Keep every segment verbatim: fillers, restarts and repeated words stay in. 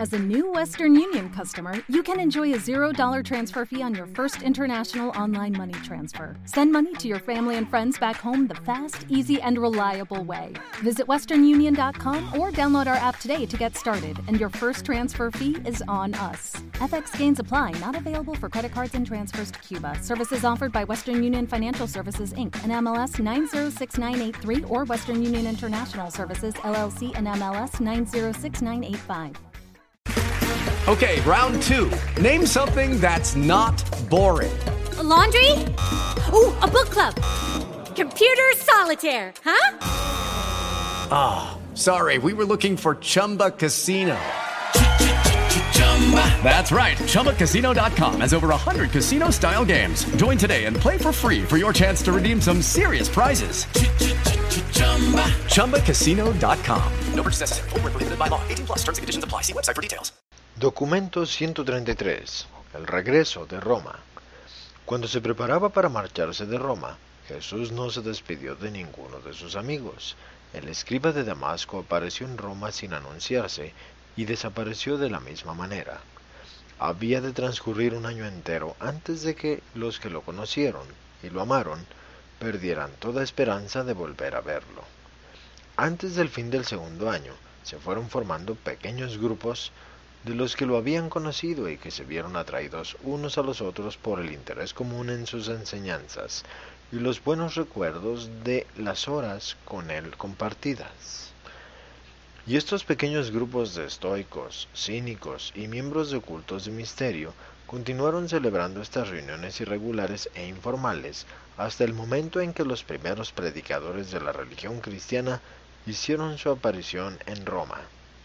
As a new Western Union customer, you can enjoy a zero dollar transfer fee on your first international online money transfer. Send money to your family and friends back home the fast, easy, and reliable way. Visit western union dot com or download our app today to get started, and your first transfer fee is on us. F X gains apply, not available for credit cards and transfers to Cuba. Services offered by Western Union Financial Services, Incorporated, and M L S nine zero six nine eight three or Western Union International Services, L L C, and M L S nine zero six nine eight five. Okay, round two. Name something that's not boring. A laundry? Ooh, a book club. Computer solitaire, huh? Ah, oh, sorry, we were looking for Chumba Casino. That's right, Chumba Casino dot com has over one hundred casino-style games. Join today and play for free for your chance to redeem some serious prizes. Chumba Casino dot com. No purchase necessary. Void where prohibited by law. eighteen plus. Terms and conditions apply. See website for details. Documento ciento treinta y tres. El regreso de Roma. Cuando se preparaba para marcharse de Roma, Jesús no se despidió de ninguno de sus amigos. El escriba de Damasco apareció en Roma sin anunciarse y desapareció de la misma manera. Había de transcurrir un año entero antes de que los que lo conocieron y lo amaron perdieran toda esperanza de volver a verlo. Antes del fin del segundo año, se fueron formando pequeños grupos de los que lo habían conocido y que se vieron atraídos unos a los otros por el interés común en sus enseñanzas y los buenos recuerdos de las horas con él compartidas. Y estos pequeños grupos de estoicos, cínicos y miembros de cultos de misterio continuaron celebrando estas reuniones irregulares e informales hasta el momento en que los primeros predicadores de la religión cristiana hicieron su aparición en Roma.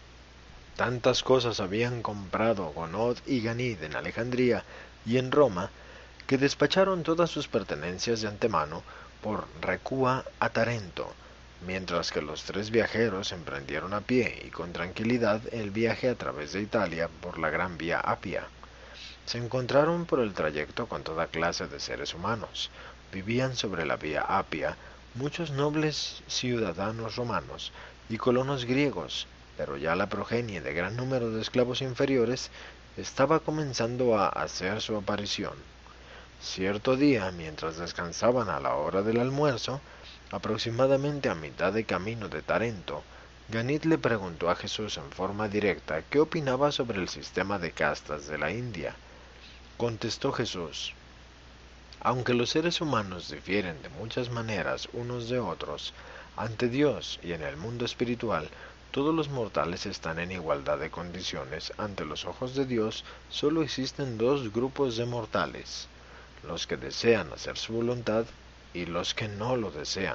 Tantas cosas habían comprado Gonod y Ganid en Alejandría y en Roma, que despacharon todas sus pertenencias de antemano por recua a Tarento, mientras que los tres viajeros emprendieron a pie y con tranquilidad el viaje a través de Italia por la Gran Vía Apia. Se encontraron por el trayecto con toda clase de seres humanos. Vivían sobre la Vía Apia muchos nobles ciudadanos romanos y colonos griegos, pero ya la progenie de gran número de esclavos inferiores estaba comenzando a hacer su aparición. Cierto día, mientras descansaban a la hora del almuerzo, aproximadamente a mitad de camino de Tarento, Ganid le preguntó a Jesús en forma directa qué opinaba sobre el sistema de castas de la India. Contestó Jesús: aunque los seres humanos difieren de muchas maneras unos de otros, ante Dios y en el mundo espiritual, todos los mortales están en igualdad de condiciones. Ante los ojos de Dios solo existen dos grupos de mortales: los que desean hacer su voluntad y los que no lo desean.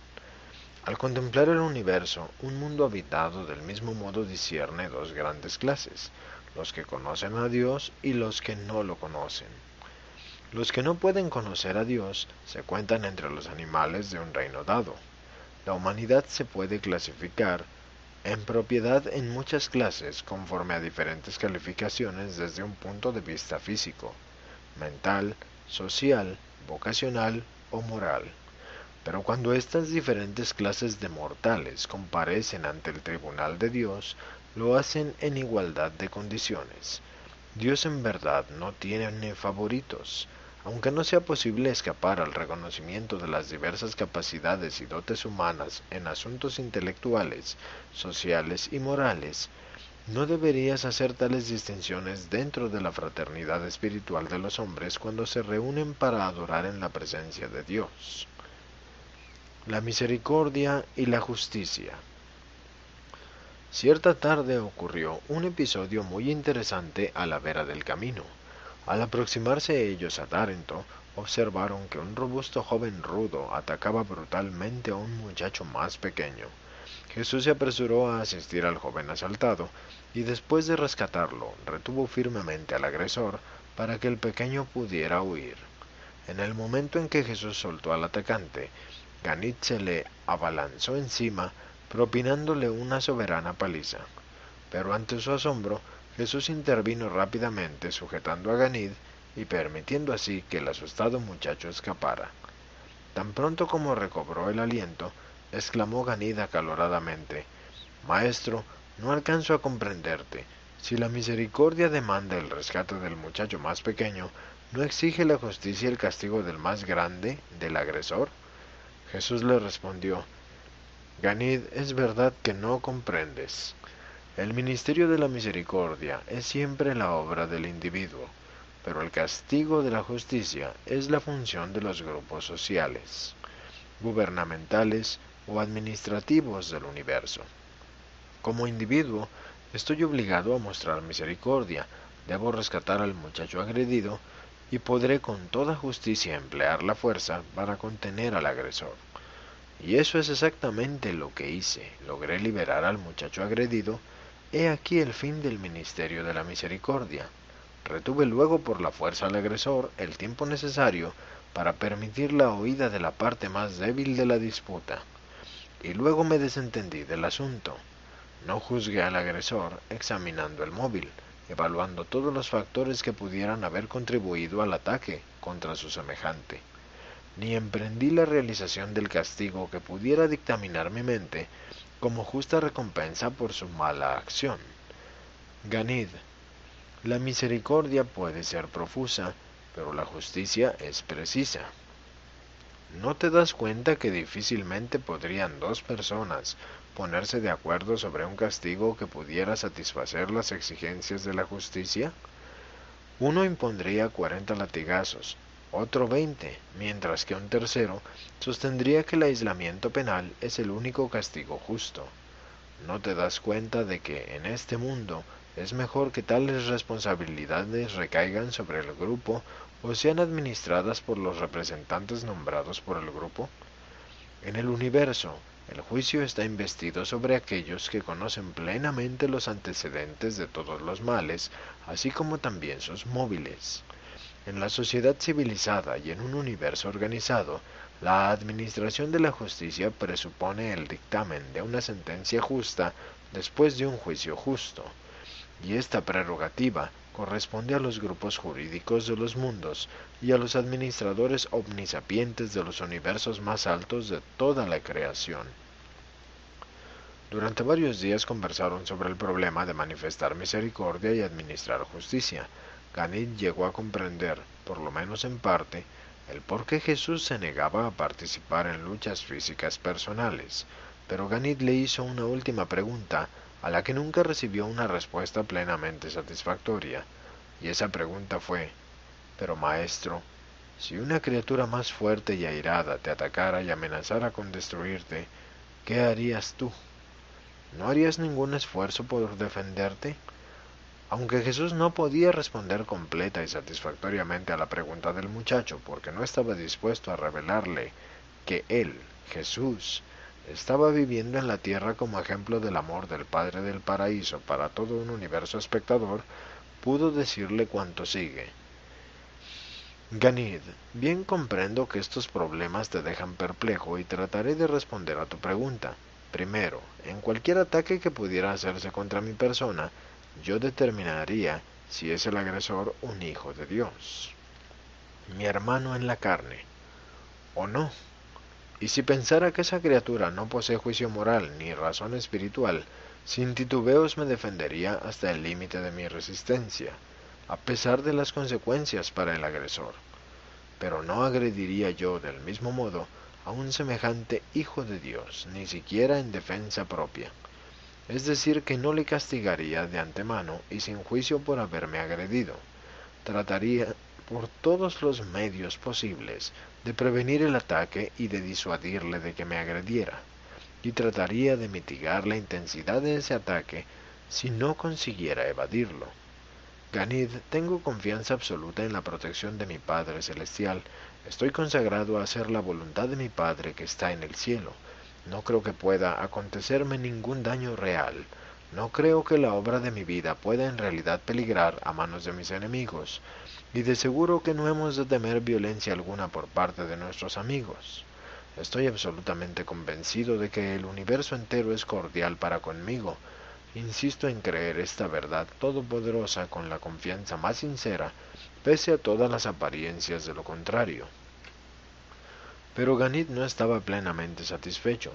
Al contemplar el universo, un mundo habitado del mismo modo discierne dos grandes clases: los que conocen a Dios y los que no lo conocen. Los que no pueden conocer a Dios se cuentan entre los animales de un reino dado. La humanidad se puede clasificar en propiedad en muchas clases conforme a diferentes calificaciones desde un punto de vista físico, mental, social, vocacional o moral. Pero cuando estas diferentes clases de mortales comparecen ante el tribunal de Dios, lo hacen en igualdad de condiciones. Dios en verdad no tiene favoritos. Aunque no sea posible escapar al reconocimiento de las diversas capacidades y dotes humanas en asuntos intelectuales, sociales y morales, no deberías hacer tales distinciones dentro de la fraternidad espiritual de los hombres cuando se reúnen para adorar en la presencia de Dios. La misericordia y la justicia. Cierta tarde ocurrió un episodio muy interesante a la vera del camino. Al aproximarse ellos a Tarento, observaron que un robusto joven rudo atacaba brutalmente a un muchacho más pequeño. Jesús se apresuró a asistir al joven asaltado, y después de rescatarlo, retuvo firmemente al agresor para que el pequeño pudiera huir. En el momento en que Jesús soltó al atacante, Ganid se le abalanzó encima, propinándole una soberana paliza. Pero ante su asombro, Jesús intervino rápidamente sujetando a Ganid y permitiendo así que el asustado muchacho escapara. Tan pronto como recobró el aliento, exclamó Ganid acaloradamente: «Maestro, no alcanzo a comprenderte. Si la misericordia demanda el rescate del muchacho más pequeño, ¿no exige la justicia el castigo del más grande, del agresor? Jesús le respondió: Ganid, es verdad que no comprendes. El ministerio de la misericordia es siempre la obra del individuo, pero el castigo de la justicia es la función de los grupos sociales, gubernamentales o administrativos del universo. Como individuo, estoy obligado a mostrar misericordia, debo rescatar al muchacho agredido y podré con toda justicia emplear la fuerza para contener al agresor. Y eso es exactamente lo que hice. Logré liberar al muchacho agredido. He aquí el fin del ministerio de la misericordia. Retuve luego por la fuerza al agresor el tiempo necesario para permitir la oída de la parte más débil de la disputa. Y luego me desentendí del asunto. No juzgué al agresor examinando el móvil, evaluando todos los factores que pudieran haber contribuido al ataque contra su semejante. Ni emprendí la realización del castigo que pudiera dictaminar mi mente como justa recompensa por su mala acción. Ganid, la misericordia puede ser profusa, pero la justicia es precisa. ¿No te das cuenta que difícilmente podrían dos personas ponerse de acuerdo sobre un castigo que pudiera satisfacer las exigencias de la justicia? Uno impondría cuarenta latigazos, otro veinte, mientras que un tercero sostendría que el aislamiento penal es el único castigo justo. ¿No te das cuenta de que en este mundo es mejor que tales responsabilidades recaigan sobre el grupo o sean administradas por los representantes nombrados por el grupo? En el universo, el juicio está investido sobre aquellos que conocen plenamente los antecedentes de todos los males, así como también sus móviles. En la sociedad civilizada y en un universo organizado, la administración de la justicia presupone el dictamen de una sentencia justa después de un juicio justo, y esta prerrogativa corresponde a los grupos jurídicos de los mundos y a los administradores omnisapientes de los universos más altos de toda la creación. Durante varios días conversaron sobre el problema de manifestar misericordia y administrar justicia. Ganid llegó a comprender, por lo menos en parte, el por qué Jesús se negaba a participar en luchas físicas personales, pero Ganid le hizo una última pregunta a la que nunca recibió una respuesta plenamente satisfactoria, y esa pregunta fue: «Pero maestro, si una criatura más fuerte y airada te atacara y amenazara con destruirte, ¿qué harías tú? ¿No harías ningún esfuerzo por defenderte?» Aunque Jesús no podía responder completa y satisfactoriamente a la pregunta del muchacho, porque no estaba dispuesto a revelarle que él, Jesús, estaba viviendo en la tierra como ejemplo del amor del Padre del Paraíso para todo un universo espectador, pudo decirle cuanto sigue. Ganid, bien comprendo que estos problemas te dejan perplejo y trataré de responder a tu pregunta. Primero, en cualquier ataque que pudiera hacerse contra mi persona, yo determinaría si es el agresor un hijo de Dios, mi hermano en la carne, o no. Y si pensara que esa criatura no posee juicio moral ni razón espiritual, sin titubeos me defendería hasta el límite de mi resistencia, a pesar de las consecuencias para el agresor. Pero no agrediría yo del mismo modo a un semejante hijo de Dios, ni siquiera en defensa propia. Es decir, que no le castigaría de antemano y sin juicio por haberme agredido. Trataría por todos los medios posibles de prevenir el ataque y de disuadirle de que me agrediera, y trataría de mitigar la intensidad de ese ataque si no consiguiera evadirlo. Ganid, tengo confianza absoluta en la protección de mi Padre Celestial. Estoy consagrado a hacer la voluntad de mi Padre que está en el cielo. No creo que pueda acontecerme ningún daño real. No creo que la obra de mi vida pueda en realidad peligrar a manos de mis enemigos, y de seguro que no hemos de temer violencia alguna por parte de nuestros amigos. Estoy absolutamente convencido de que el universo entero es cordial para conmigo. Insisto en creer esta verdad todopoderosa con la confianza más sincera, pese a todas las apariencias de lo contrario. Pero Ganid no estaba plenamente satisfecho.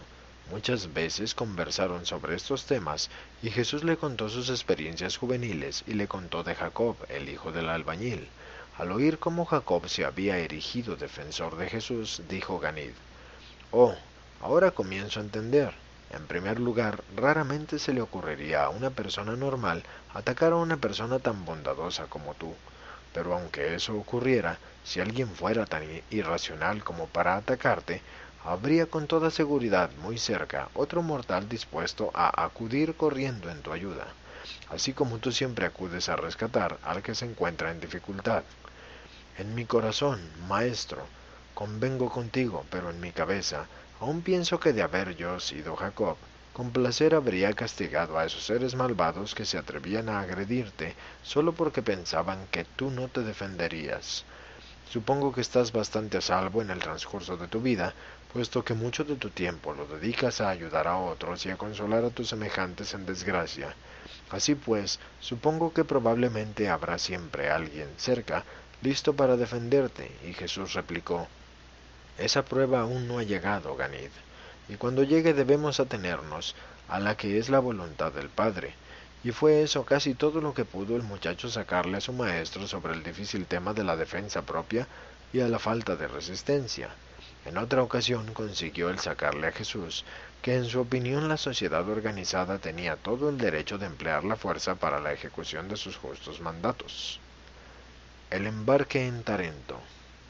Muchas veces conversaron sobre estos temas y Jesús le contó sus experiencias juveniles y le contó de Jacob, el hijo del albañil. Al oír cómo Jacob se había erigido defensor de Jesús, dijo Ganid: «Oh, ahora comienzo a entender. En primer lugar, raramente se le ocurriría a una persona normal atacar a una persona tan bondadosa como tú. Pero aunque eso ocurriera, si alguien fuera tan irracional como para atacarte, habría con toda seguridad muy cerca otro mortal dispuesto a acudir corriendo en tu ayuda, así como tú siempre acudes a rescatar al que se encuentra en dificultad. En mi corazón, maestro, convengo contigo, pero en mi cabeza, aún pienso que de haber yo sido Jacob, con placer habría castigado a esos seres malvados que se atrevían a agredirte solo porque pensaban que tú no te defenderías. Supongo que estás bastante a salvo en el transcurso de tu vida, puesto que mucho de tu tiempo lo dedicas a ayudar a otros y a consolar a tus semejantes en desgracia. Así pues, supongo que probablemente habrá siempre alguien cerca, listo para defenderte». Y Jesús replicó: «Esa prueba aún no ha llegado, Ganid, y cuando llegue debemos atenernos a la que es la voluntad del Padre». Y fue eso casi todo lo que pudo el muchacho sacarle a su maestro sobre el difícil tema de la defensa propia y a la falta de resistencia. En otra ocasión consiguió el sacarle a Jesús que en su opinión la sociedad organizada tenía todo el derecho de emplear la fuerza para la ejecución de sus justos mandatos. El embarque en Tarento.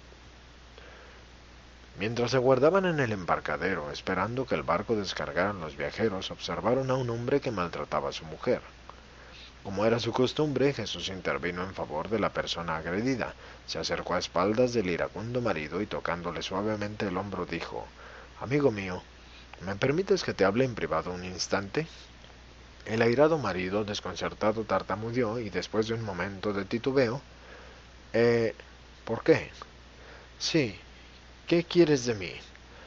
Mientras aguardaban en el embarcadero, esperando que el barco descargara a los viajeros, observaron a un hombre que maltrataba a su mujer. Como era su costumbre, Jesús intervino en favor de la persona agredida. Se acercó a espaldas del iracundo marido y tocándole suavemente el hombro dijo: «Amigo mío, ¿me permites que te hable en privado un instante?». El airado marido, desconcertado, tartamudeó y después de un momento de titubeo: «Eh, ¿por qué?». «Sí, ¿qué quieres de mí?».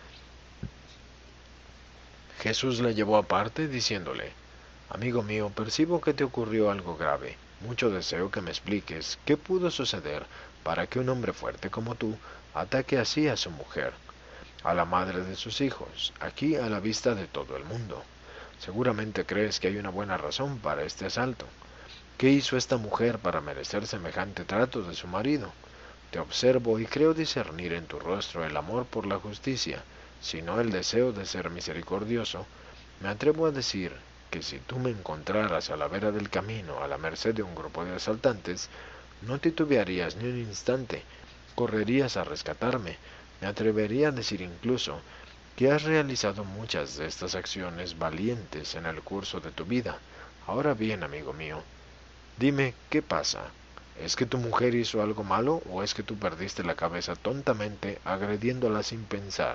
Jesús le llevó aparte, diciéndole: «Amigo mío, percibo que te ocurrió algo grave. Mucho deseo que me expliques qué pudo suceder para que un hombre fuerte como tú ataque así a su mujer, a la madre de sus hijos, aquí a la vista de todo el mundo. Seguramente crees que hay una buena razón para este asalto. ¿Qué hizo esta mujer para merecer semejante trato de su marido? Te observo y creo discernir en tu rostro el amor por la justicia, si no el deseo de ser misericordioso. Me atrevo a decir que si tú me encontraras a la vera del camino a la merced de un grupo de asaltantes, no titubearías ni un instante, correrías a rescatarme. Me atrevería a decir incluso que has realizado muchas de estas acciones valientes en el curso de tu vida. Ahora bien, amigo mío, dime, ¿qué pasa? ¿Es que tu mujer hizo algo malo o es que tú perdiste la cabeza tontamente agrediéndola sin pensar?».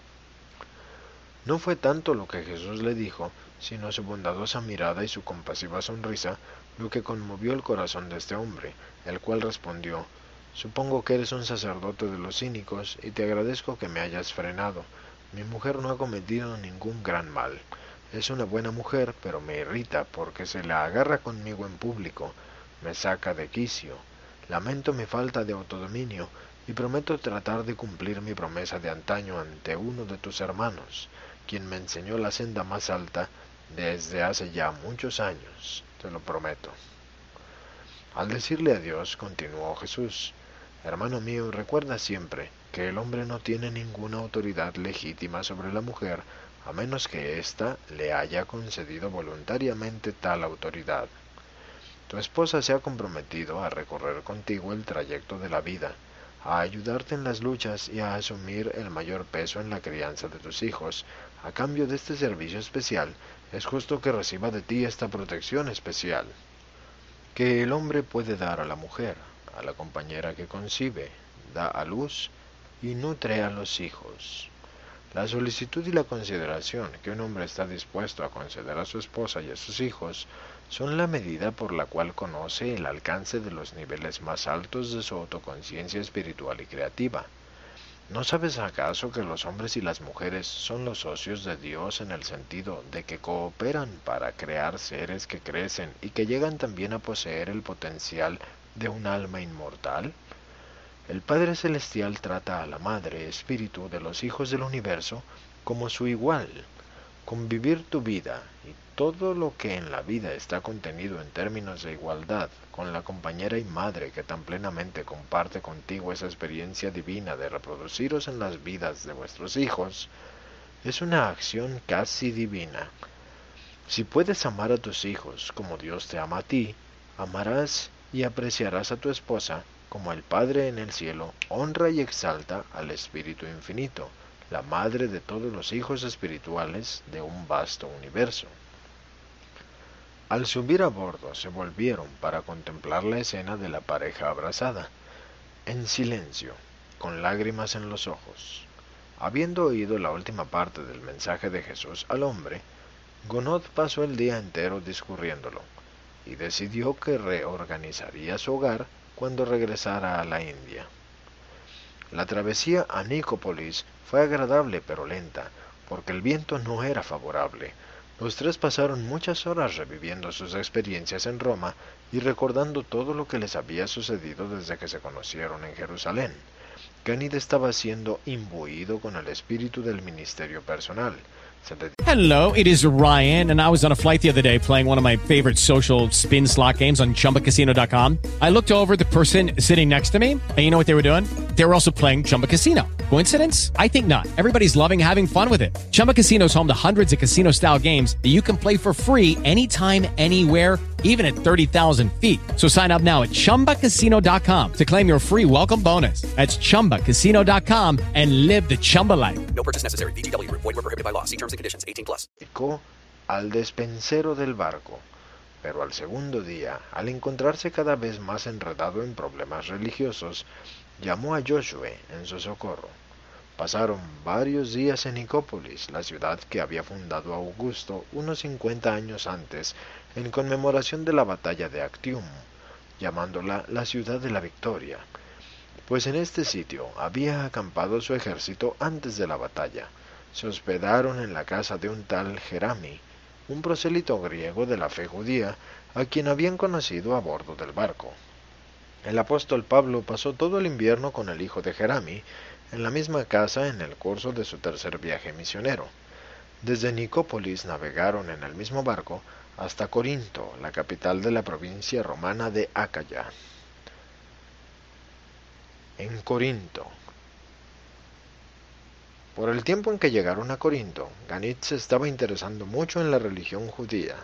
No fue tanto lo que Jesús le dijo, sino su bondadosa mirada y su compasiva sonrisa, lo que conmovió el corazón de este hombre, el cual respondió: «Supongo que eres un sacerdote de los cínicos y te agradezco que me hayas frenado. Mi mujer no ha cometido ningún gran mal. Es una buena mujer, pero me irrita porque se la agarra conmigo en público. Me saca de quicio. Lamento mi falta de autodominio y prometo tratar de cumplir mi promesa de antaño ante uno de tus hermanos, quien me enseñó la senda más alta desde hace ya muchos años, te lo prometo». Al decirle adiós, continuó Jesús: «Hermano mío, recuerda siempre que el hombre no tiene ninguna autoridad legítima sobre la mujer, a menos que ésta le haya concedido voluntariamente tal autoridad. Tu esposa se ha comprometido a recorrer contigo el trayecto de la vida, a ayudarte en las luchas y a asumir el mayor peso en la crianza de tus hijos. A cambio de este servicio especial, es justo que reciba de ti esta protección especial que el hombre puede dar a la mujer, a la compañera que concibe, da a luz y nutre a los hijos. La solicitud y la consideración que un hombre está dispuesto a conceder a su esposa y a sus hijos son la medida por la cual conoce el alcance de los niveles más altos de su autoconciencia espiritual y creativa. ¿No sabes acaso que los hombres y las mujeres son los socios de Dios en el sentido de que cooperan para crear seres que crecen y que llegan también a poseer el potencial de un alma inmortal? El Padre Celestial trata a la Madre Espíritu de los hijos del universo como su igual. convivir tu vida y todo lo que en la vida está contenido en términos de igualdad con la compañera y madre que tan plenamente comparte contigo esa experiencia divina de reproduciros en las vidas de vuestros hijos, es una acción casi divina. Si puedes amar a tus hijos como Dios te ama a ti, amarás y apreciarás a tu esposa como el Padre en el cielo honra y exalta al Espíritu Infinito, la madre de todos los hijos espirituales de un vasto universo. Al subir a bordo se volvieron para contemplar la escena de la pareja abrazada, en silencio, con lágrimas en los ojos. Habiendo oído la última parte del mensaje de Jesús al hombre, Gounod pasó el día entero discurriéndolo, y decidió que reorganizaría su hogar cuando regresara a la India. La travesía a Nicópolis fue agradable pero lenta, porque el viento no era favorable. Los tres pasaron muchas horas reviviendo sus experiencias en Roma y recordando todo lo que les había sucedido desde que se conocieron en Jerusalén. Ganid estaba siendo imbuido con el espíritu del ministerio personal. Hello, it is Ryan, and I was on a flight the other day playing one of my favorite social spin slot games on Chumba Casino dot com. I looked over at the person sitting next to me, and you know what they were doing? They were also playing Chumba Casino. Coincidence? I think not. Everybody's loving having fun with it. Chumba Casino is home to hundreds of casino-style games that you can play for free anytime, anywhere, even at thirty thousand feet. So sign up now at Chumba Casino dot com to claim your free welcome bonus. That's Chumba Casino dot com and live the Chumba life. No purchase necessary. V G W. Void where prohibited by law. See terms and conditions. eighteen plus. Al despensero del barco, pero al segundo día, al encontrarse cada vez más enredado en problemas religiosos, llamó a Josué en su socorro. Pasaron varios días en Nicópolis, la ciudad que había fundado Augusto unos cincuenta años antes, en conmemoración de la batalla de Actium, llamándola la ciudad de la victoria, pues en este sitio había acampado su ejército antes de la batalla. Se hospedaron en la casa de un tal Jerami, un prosélito griego de la fe judía, a quien habían conocido a bordo del barco. El apóstol Pablo pasó todo el invierno con el hijo de Jerami, en la misma casa en el curso de su tercer viaje misionero. Desde Nicópolis navegaron en el mismo barco hasta Corinto, la capital de la provincia romana de Acaya. En Corinto. Por el tiempo en que llegaron a Corinto, Ganid se estaba interesando mucho en la religión judía.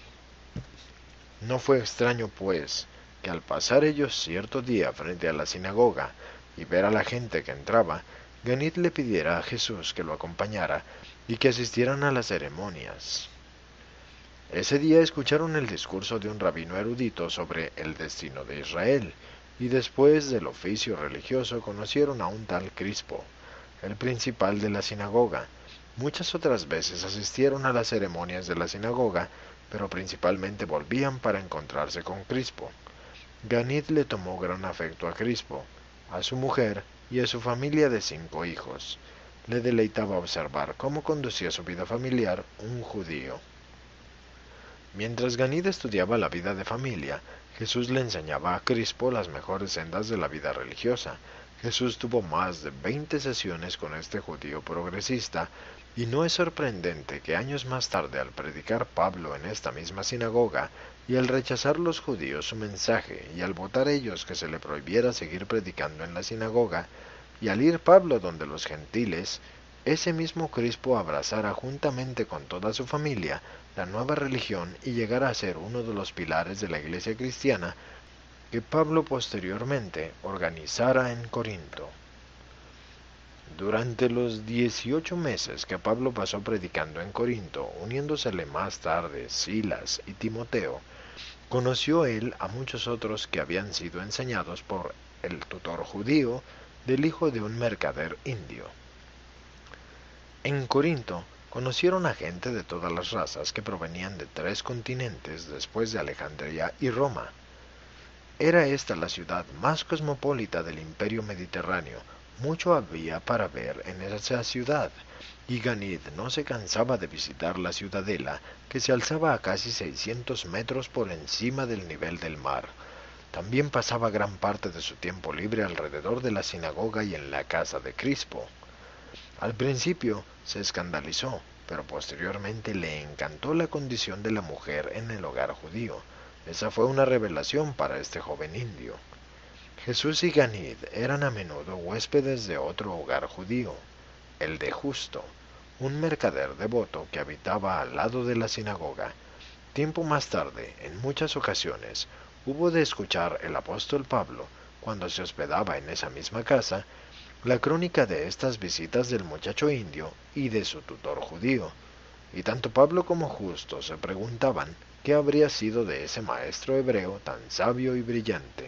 No fue extraño, pues, que al pasar ellos cierto día frente a la sinagoga y ver a la gente que entraba, Ganid le pidiera a Jesús que lo acompañara y que asistieran a las ceremonias. Ese día escucharon el discurso de un rabino erudito sobre el destino de Israel, y después del oficio religioso conocieron a un tal Crispo, el principal de la sinagoga. Muchas otras veces asistieron a las ceremonias de la sinagoga, pero principalmente volvían para encontrarse con Crispo. Ganid le tomó gran afecto a Crispo, a su mujer y a su familia de cinco hijos. Le deleitaba observar cómo conducía su vida familiar un judío. Mientras Ganid estudiaba la vida de familia, Jesús le enseñaba a Crispo las mejores sendas de la vida religiosa. Jesús tuvo más de veinte sesiones con este judío progresista, y no es sorprendente que años más tarde, al predicar Pablo en esta misma sinagoga, y al rechazar los judíos su mensaje, y al votar ellos que se le prohibiera seguir predicando en la sinagoga, y al ir Pablo donde los gentiles, ese mismo Crispo abrazara juntamente con toda su familia la nueva religión y llegara a ser uno de los pilares de la iglesia cristiana que Pablo posteriormente organizara en Corinto. Durante los dieciocho meses que Pablo pasó predicando en Corinto, uniéndosele más tarde Silas y Timoteo, conoció él a muchos otros que habían sido enseñados por el tutor judío del hijo de un mercader indio. En Corinto conocieron a gente de todas las razas que provenían de tres continentes después de Alejandría y Roma. Era esta la ciudad más cosmopolita del imperio mediterráneo. Mucho había para ver en esa ciudad, y Ganid no se cansaba de visitar la ciudadela, que se alzaba a casi seiscientos metros por encima del nivel del mar. También pasaba gran parte de su tiempo libre alrededor de la sinagoga y en la casa de Crispo. Al principio se escandalizó, pero posteriormente le encantó la condición de la mujer en el hogar judío. Esa fue una revelación para este joven indio. Jesús y Ganid eran a menudo huéspedes de otro hogar judío, el de Justo, un mercader devoto que habitaba al lado de la sinagoga. Tiempo más tarde, en muchas ocasiones, hubo de escuchar el apóstol Pablo, cuando se hospedaba en esa misma casa, la crónica de estas visitas del muchacho indio y de su tutor judío, y tanto Pablo como Justo se preguntaban qué habría sido de ese maestro hebreo tan sabio y brillante.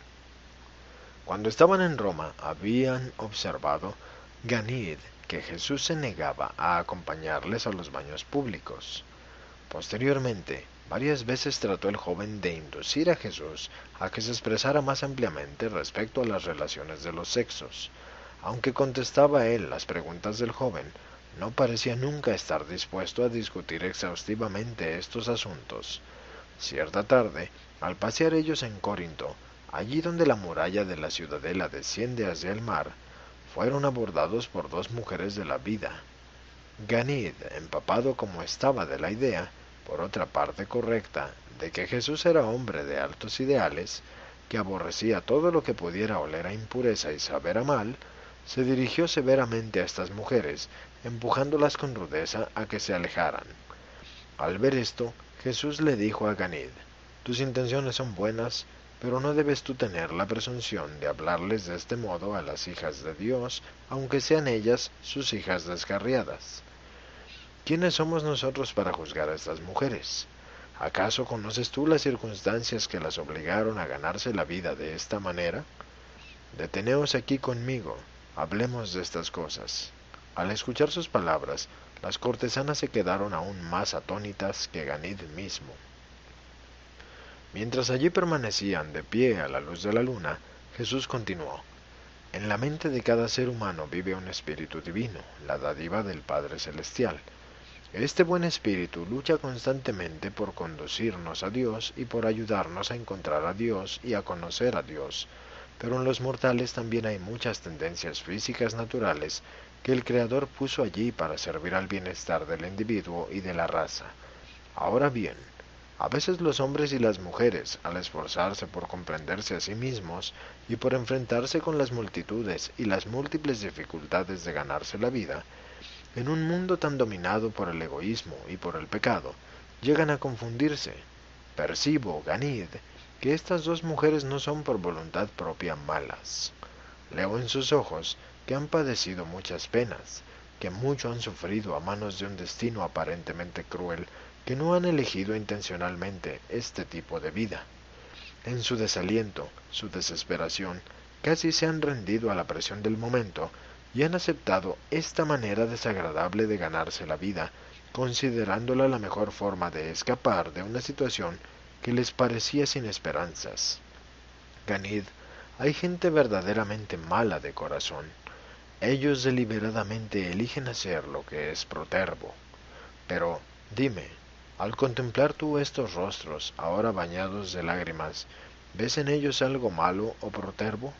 Cuando estaban en Roma, habían observado Ganid que Jesús se negaba a acompañarles a los baños públicos. Posteriormente, varias veces trató el joven de inducir a Jesús a que se expresara más ampliamente respecto a las relaciones de los sexos. Aunque contestaba él las preguntas del joven, no parecía nunca estar dispuesto a discutir exhaustivamente estos asuntos. Cierta tarde, al pasear ellos en Corinto, allí donde la muralla de la ciudadela desciende hacia el mar, fueron abordados por dos mujeres de la vida. Ganid, empapado como estaba de la idea, por otra parte correcta, de que Jesús era hombre de altos ideales, que aborrecía todo lo que pudiera oler a impureza y saber a mal, se dirigió severamente a estas mujeres, empujándolas con rudeza a que se alejaran. Al ver esto, Jesús le dijo a Ganid: «Tus intenciones son buenas, pero no debes tú tener la presunción de hablarles de este modo a las hijas de Dios, aunque sean ellas sus hijas descarriadas. ¿Quiénes somos nosotros para juzgar a estas mujeres? ¿Acaso conoces tú las circunstancias que las obligaron a ganarse la vida de esta manera? Deteneos aquí conmigo, hablemos de estas cosas». Al escuchar sus palabras, las cortesanas se quedaron aún más atónitas que Ganid mismo. Mientras allí permanecían de pie a la luz de la luna, Jesús continuó: «En la mente de cada ser humano vive un espíritu divino, la dádiva del Padre Celestial. Este buen espíritu lucha constantemente por conducirnos a Dios y por ayudarnos a encontrar a Dios y a conocer a Dios, pero en los mortales también hay muchas tendencias físicas naturales que el Creador puso allí para servir al bienestar del individuo y de la raza. Ahora bien, a veces los hombres y las mujeres, al esforzarse por comprenderse a sí mismos y por enfrentarse con las multitudes y las múltiples dificultades de ganarse la vida, en un mundo tan dominado por el egoísmo y por el pecado, llegan a confundirse. Percibo, Ganid, que estas dos mujeres no son por voluntad propia malas. Leo en sus ojos que han padecido muchas penas, que mucho han sufrido a manos de un destino aparentemente cruel, que no han elegido intencionalmente este tipo de vida. En su desaliento, su desesperación, casi se han rendido a la presión del momento y han aceptado esta manera desagradable de ganarse la vida, considerándola la mejor forma de escapar de una situación que les parecía sin esperanzas. Ganid, hay gente verdaderamente mala de corazón. Ellos deliberadamente eligen hacer lo que es protervo. Pero, dime, al contemplar tú estos rostros, ahora bañados de lágrimas, ¿ves en ellos algo malo o protervo?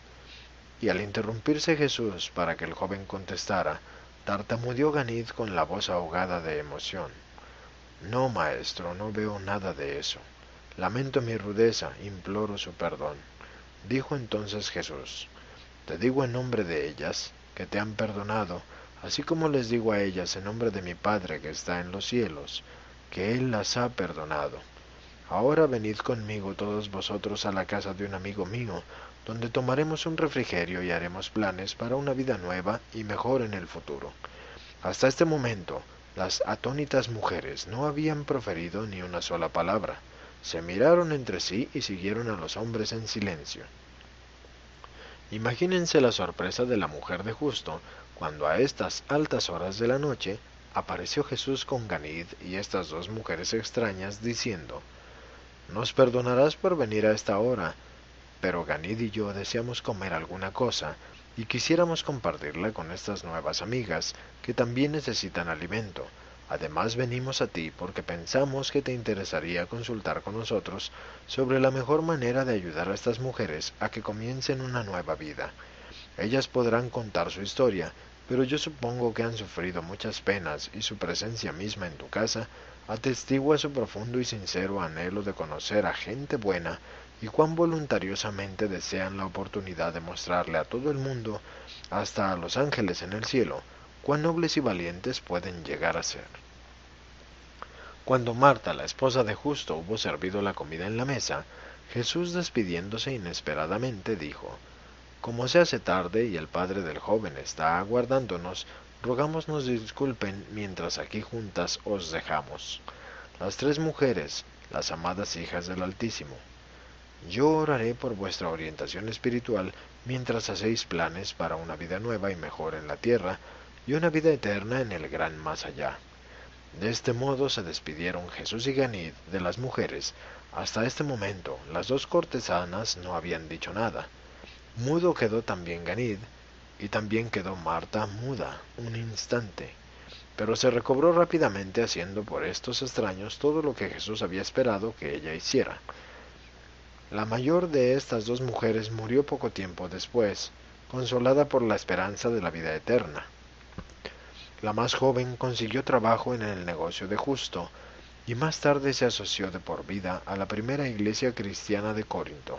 Y al interrumpirse Jesús para que el joven contestara, tartamudeó Ganid con la voz ahogada de emoción. No, maestro, no veo nada de eso. Lamento mi rudeza, imploro su perdón. Dijo entonces Jesús: te digo en nombre de ellas, que te han perdonado, así como les digo a ellas en nombre de mi Padre que está en los cielos, que Él las ha perdonado. Ahora venid conmigo todos vosotros a la casa de un amigo mío, donde tomaremos un refrigerio y haremos planes para una vida nueva y mejor en el futuro. Hasta este momento, las atónitas mujeres no habían proferido ni una sola palabra. Se miraron entre sí y siguieron a los hombres en silencio. Imagínense la sorpresa de la mujer de Justo, cuando a estas altas horas de la noche apareció Jesús con Ganid y estas dos mujeres extrañas, diciendo: «Nos perdonarás por venir a esta hora, pero Ganid y yo deseamos comer alguna cosa, y quisiéramos compartirla con estas nuevas amigas, que también necesitan alimento. Además venimos a ti porque pensamos que te interesaría consultar con nosotros sobre la mejor manera de ayudar a estas mujeres a que comiencen una nueva vida. Ellas podrán contar su historia, pero yo supongo que han sufrido muchas penas y su presencia misma en tu casa atestigua su profundo y sincero anhelo de conocer a gente buena y cuán voluntariosamente desean la oportunidad de mostrarle a todo el mundo, hasta a los ángeles en el cielo, cuán nobles y valientes pueden llegar a ser. Cuando Marta, la esposa de Justo, hubo servido la comida en la mesa, Jesús, despidiéndose inesperadamente, dijo: Como se hace tarde y el padre del joven está aguardándonos, rogamos nos disculpen mientras aquí juntas os dejamos. Las tres mujeres, las amadas hijas del Altísimo. Yo oraré por vuestra orientación espiritual mientras hacéis planes para una vida nueva y mejor en la tierra y una vida eterna en el gran más allá. De este modo se despidieron Jesús y Ganid de las mujeres. Hasta este momento las dos cortesanas no habían dicho nada. Mudo quedó también Ganid, y también quedó Marta muda un instante, pero se recobró rápidamente haciendo por estos extraños todo lo que Jesús había esperado que ella hiciera. La mayor de estas dos mujeres murió poco tiempo después, consolada por la esperanza de la vida eterna. La más joven consiguió trabajo en el negocio de Justo, y más tarde se asoció de por vida a la primera iglesia cristiana de Corinto.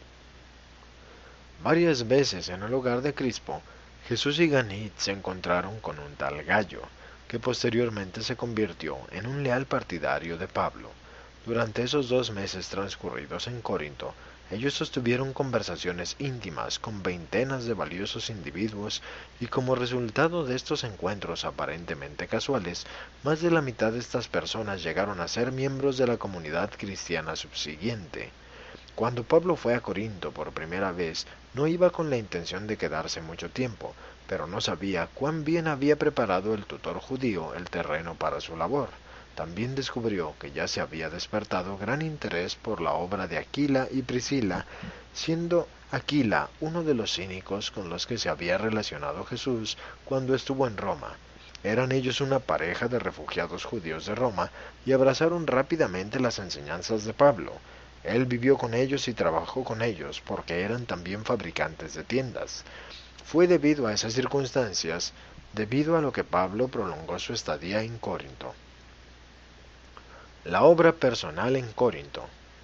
Varias veces en el hogar de Crispo, Jesús y Ganid se encontraron con un tal Gallo, que posteriormente se convirtió en un leal partidario de Pablo. Durante esos dos meses transcurridos en Corinto, ellos sostuvieron conversaciones íntimas con veintenas de valiosos individuos y como resultado de estos encuentros aparentemente casuales, más de la mitad de estas personas llegaron a ser miembros de la comunidad cristiana subsiguiente. Cuando Pablo fue a Corinto por primera vez, no iba con la intención de quedarse mucho tiempo, pero no sabía cuán bien había preparado el tutor judío el terreno para su labor. También descubrió que ya se había despertado gran interés por la obra de Aquila y Priscila, siendo Aquila uno de los cínicos con los que se había relacionado Jesús cuando estuvo en Roma. Eran ellos una pareja de refugiados judíos de Roma y abrazaron rápidamente las enseñanzas de Pablo. Él vivió con ellos y trabajó con ellos porque eran también fabricantes de tiendas. Fue debido a esas circunstancias, debido a lo que Pablo prolongó su estadía en Corinto. La obra personal en Corinto.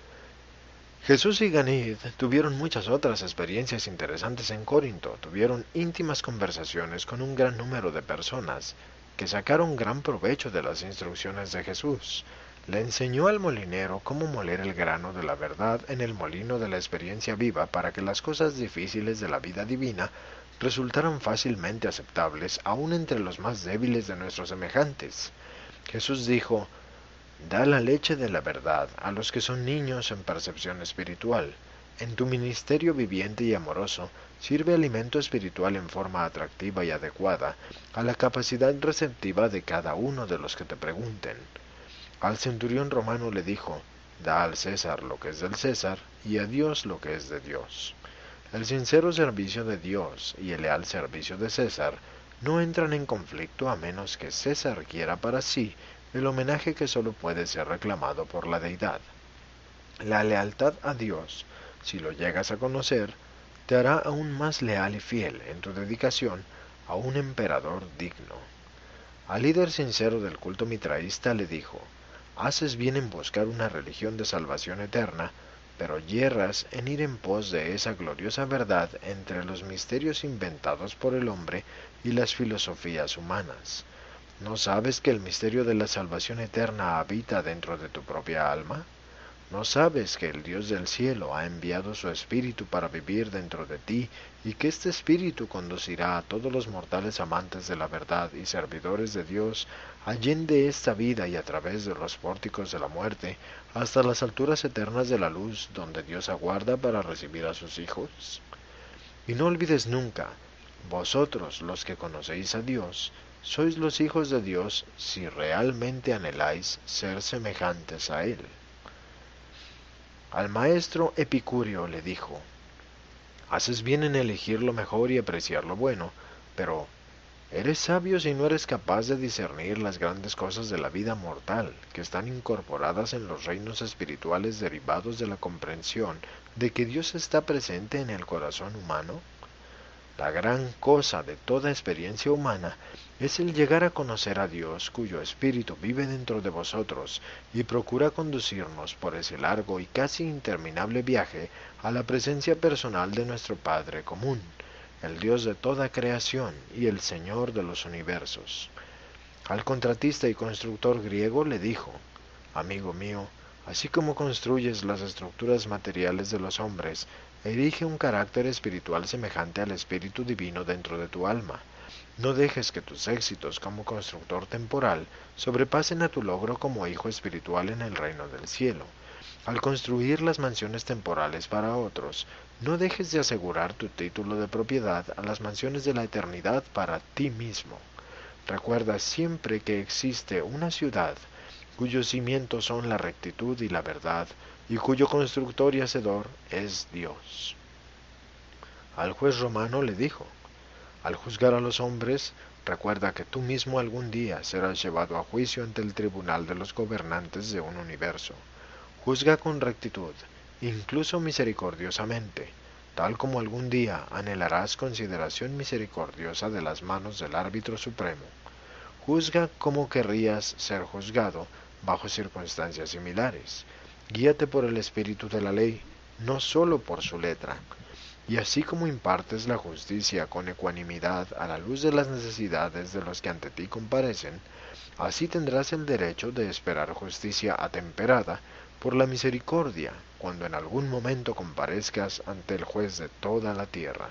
Jesús y Ganid tuvieron muchas otras experiencias interesantes en Corinto. Tuvieron íntimas conversaciones con un gran número de personas que sacaron gran provecho de las instrucciones de Jesús. Le enseñó al molinero cómo moler el grano de la verdad en el molino de la experiencia viva para que las cosas difíciles de la vida divina resultaran fácilmente aceptables aún entre los más débiles de nuestros semejantes. Jesús dijo: Da la leche de la verdad a los que son niños en percepción espiritual. En tu ministerio viviente y amoroso, sirve alimento espiritual en forma atractiva y adecuada a la capacidad receptiva de cada uno de los que te pregunten. Al centurión romano le dijo: Da al César lo que es del César y a Dios lo que es de Dios. El sincero servicio de Dios y el leal servicio de César no entran en conflicto a menos que César quiera para sí el homenaje que sólo puede ser reclamado por la deidad. La lealtad a Dios, si lo llegas a conocer, te hará aún más leal y fiel en tu dedicación a un emperador digno. Al líder sincero del culto mitraísta le dijo: Haces bien en buscar una religión de salvación eterna, pero yerras en ir en pos de esa gloriosa verdad entre los misterios inventados por el hombre y las filosofías humanas. ¿No sabes que el misterio de la salvación eterna habita dentro de tu propia alma? ¿No sabes que el Dios del cielo ha enviado su Espíritu para vivir dentro de ti y que este Espíritu conducirá a todos los mortales amantes de la verdad y servidores de Dios allende esta vida y a través de los pórticos de la muerte hasta las alturas eternas de la luz donde Dios aguarda para recibir a sus hijos? Y no olvides nunca, vosotros los que conocéis a Dios, sois los hijos de Dios si realmente anheláis ser semejantes a Él. Al maestro Epicúreo le dijo: Haces bien en elegir lo mejor y apreciar lo bueno, pero eres sabio si no eres capaz de discernir las grandes cosas de la vida mortal que están incorporadas en los reinos espirituales derivados de la comprensión de que Dios está presente en el corazón humano. La gran cosa de toda experiencia humana es el llegar a conocer a Dios, cuyo Espíritu vive dentro de vosotros y procura conducirnos por ese largo y casi interminable viaje a la presencia personal de nuestro Padre común, el Dios de toda creación y el Señor de los universos. Al contratista y constructor griego le dijo: amigo mío, así como construyes las estructuras materiales de los hombres, erige un carácter espiritual semejante al Espíritu Divino dentro de tu alma. No dejes que tus éxitos como constructor temporal sobrepasen a tu logro como hijo espiritual en el reino del cielo. Al construir las mansiones temporales para otros, no dejes de asegurar tu título de propiedad a las mansiones de la eternidad para ti mismo. Recuerda siempre que existe una ciudad cuyos cimientos son la rectitud y la verdad, y cuyo constructor y hacedor es Dios. Al juez romano le dijo: al juzgar a los hombres, recuerda que tú mismo algún día serás llevado a juicio ante el tribunal de los gobernantes de un universo. Juzga con rectitud, incluso misericordiosamente, tal como algún día anhelarás consideración misericordiosa de las manos del árbitro supremo. Juzga como querrías ser juzgado bajo circunstancias similares. Guíate por el espíritu de la ley, no sólo por su letra. Y así como impartes la justicia con ecuanimidad a la luz de las necesidades de los que ante ti comparecen, así tendrás el derecho de esperar justicia atemperada por la misericordia cuando en algún momento comparezcas ante el juez de toda la tierra.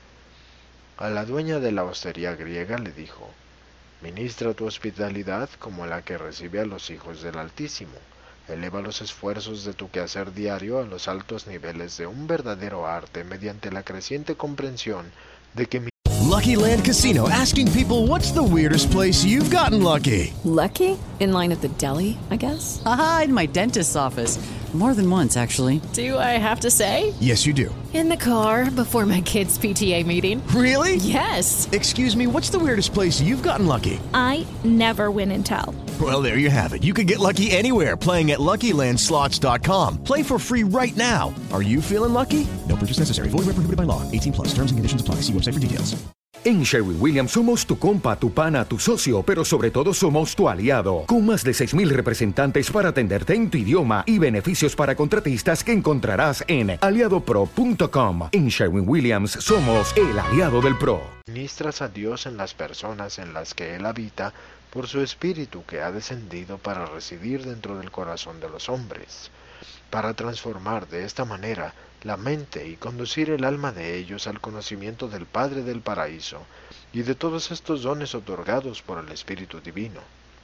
A la dueña de la hostería griega le dijo: ministra tu hospitalidad como la que recibe a los hijos del Altísimo. Eleva los esfuerzos de tu quehacer diario a los altos niveles de un verdadero arte mediante la creciente comprensión de que mi Lucky Land Casino, asking people, what's the weirdest place you've gotten lucky? Lucky? In line at the deli, I guess? Aha, in my dentist's office. More than once, actually. Do I have to say? Yes, you do. In the car before my kids' P T A meeting. Really? Yes. Excuse me, what's the weirdest place you've gotten lucky? I never win and tell. Well, there you have it. You can get lucky anywhere, playing at Lucky Land Slots dot com. Play for free right now. Are you feeling lucky? No purchase necessary. Void where prohibited by law. eighteen plus. Terms and conditions apply. See website for details. En Sherwin-Williams somos tu compa, tu pana, tu socio, pero sobre todo somos tu aliado, con más de seis mil representantes para atenderte en tu idioma y beneficios para contratistas que encontrarás en aliado pro punto com. En Sherwin-Williams somos el aliado del pro. Ministras a Dios en las personas en las que Él habita por su Espíritu que ha descendido para residir dentro del corazón de los hombres, para transformar de esta manera la mente y conducir el alma de ellos al conocimiento del Padre del Paraíso y de todos estos dones otorgados por el Espíritu Divino.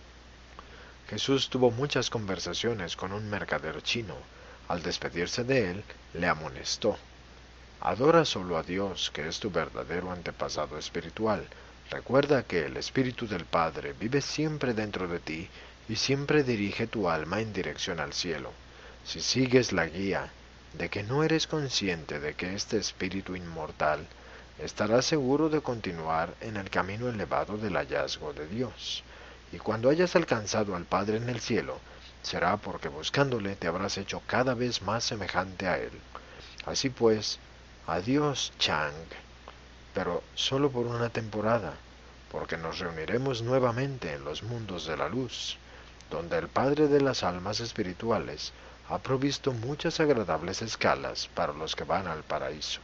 Jesús tuvo muchas conversaciones con un mercader chino. Al despedirse de él, le amonestó: adora solo a Dios, que es tu verdadero antepasado espiritual. Recuerda que el Espíritu del Padre vive siempre dentro de ti y siempre dirige tu alma en dirección al cielo. Si sigues la guía de que no eres consciente de que este espíritu inmortal, estarás seguro de continuar en el camino elevado del hallazgo de Dios. Y cuando hayas alcanzado al Padre en el cielo, será porque buscándole te habrás hecho cada vez más semejante a Él. Así pues, adiós Chang, pero solo por una temporada, porque nos reuniremos nuevamente en los mundos de la luz, donde el Padre de las almas espirituales ha provisto muchas agradables escalas para los que van al paraíso.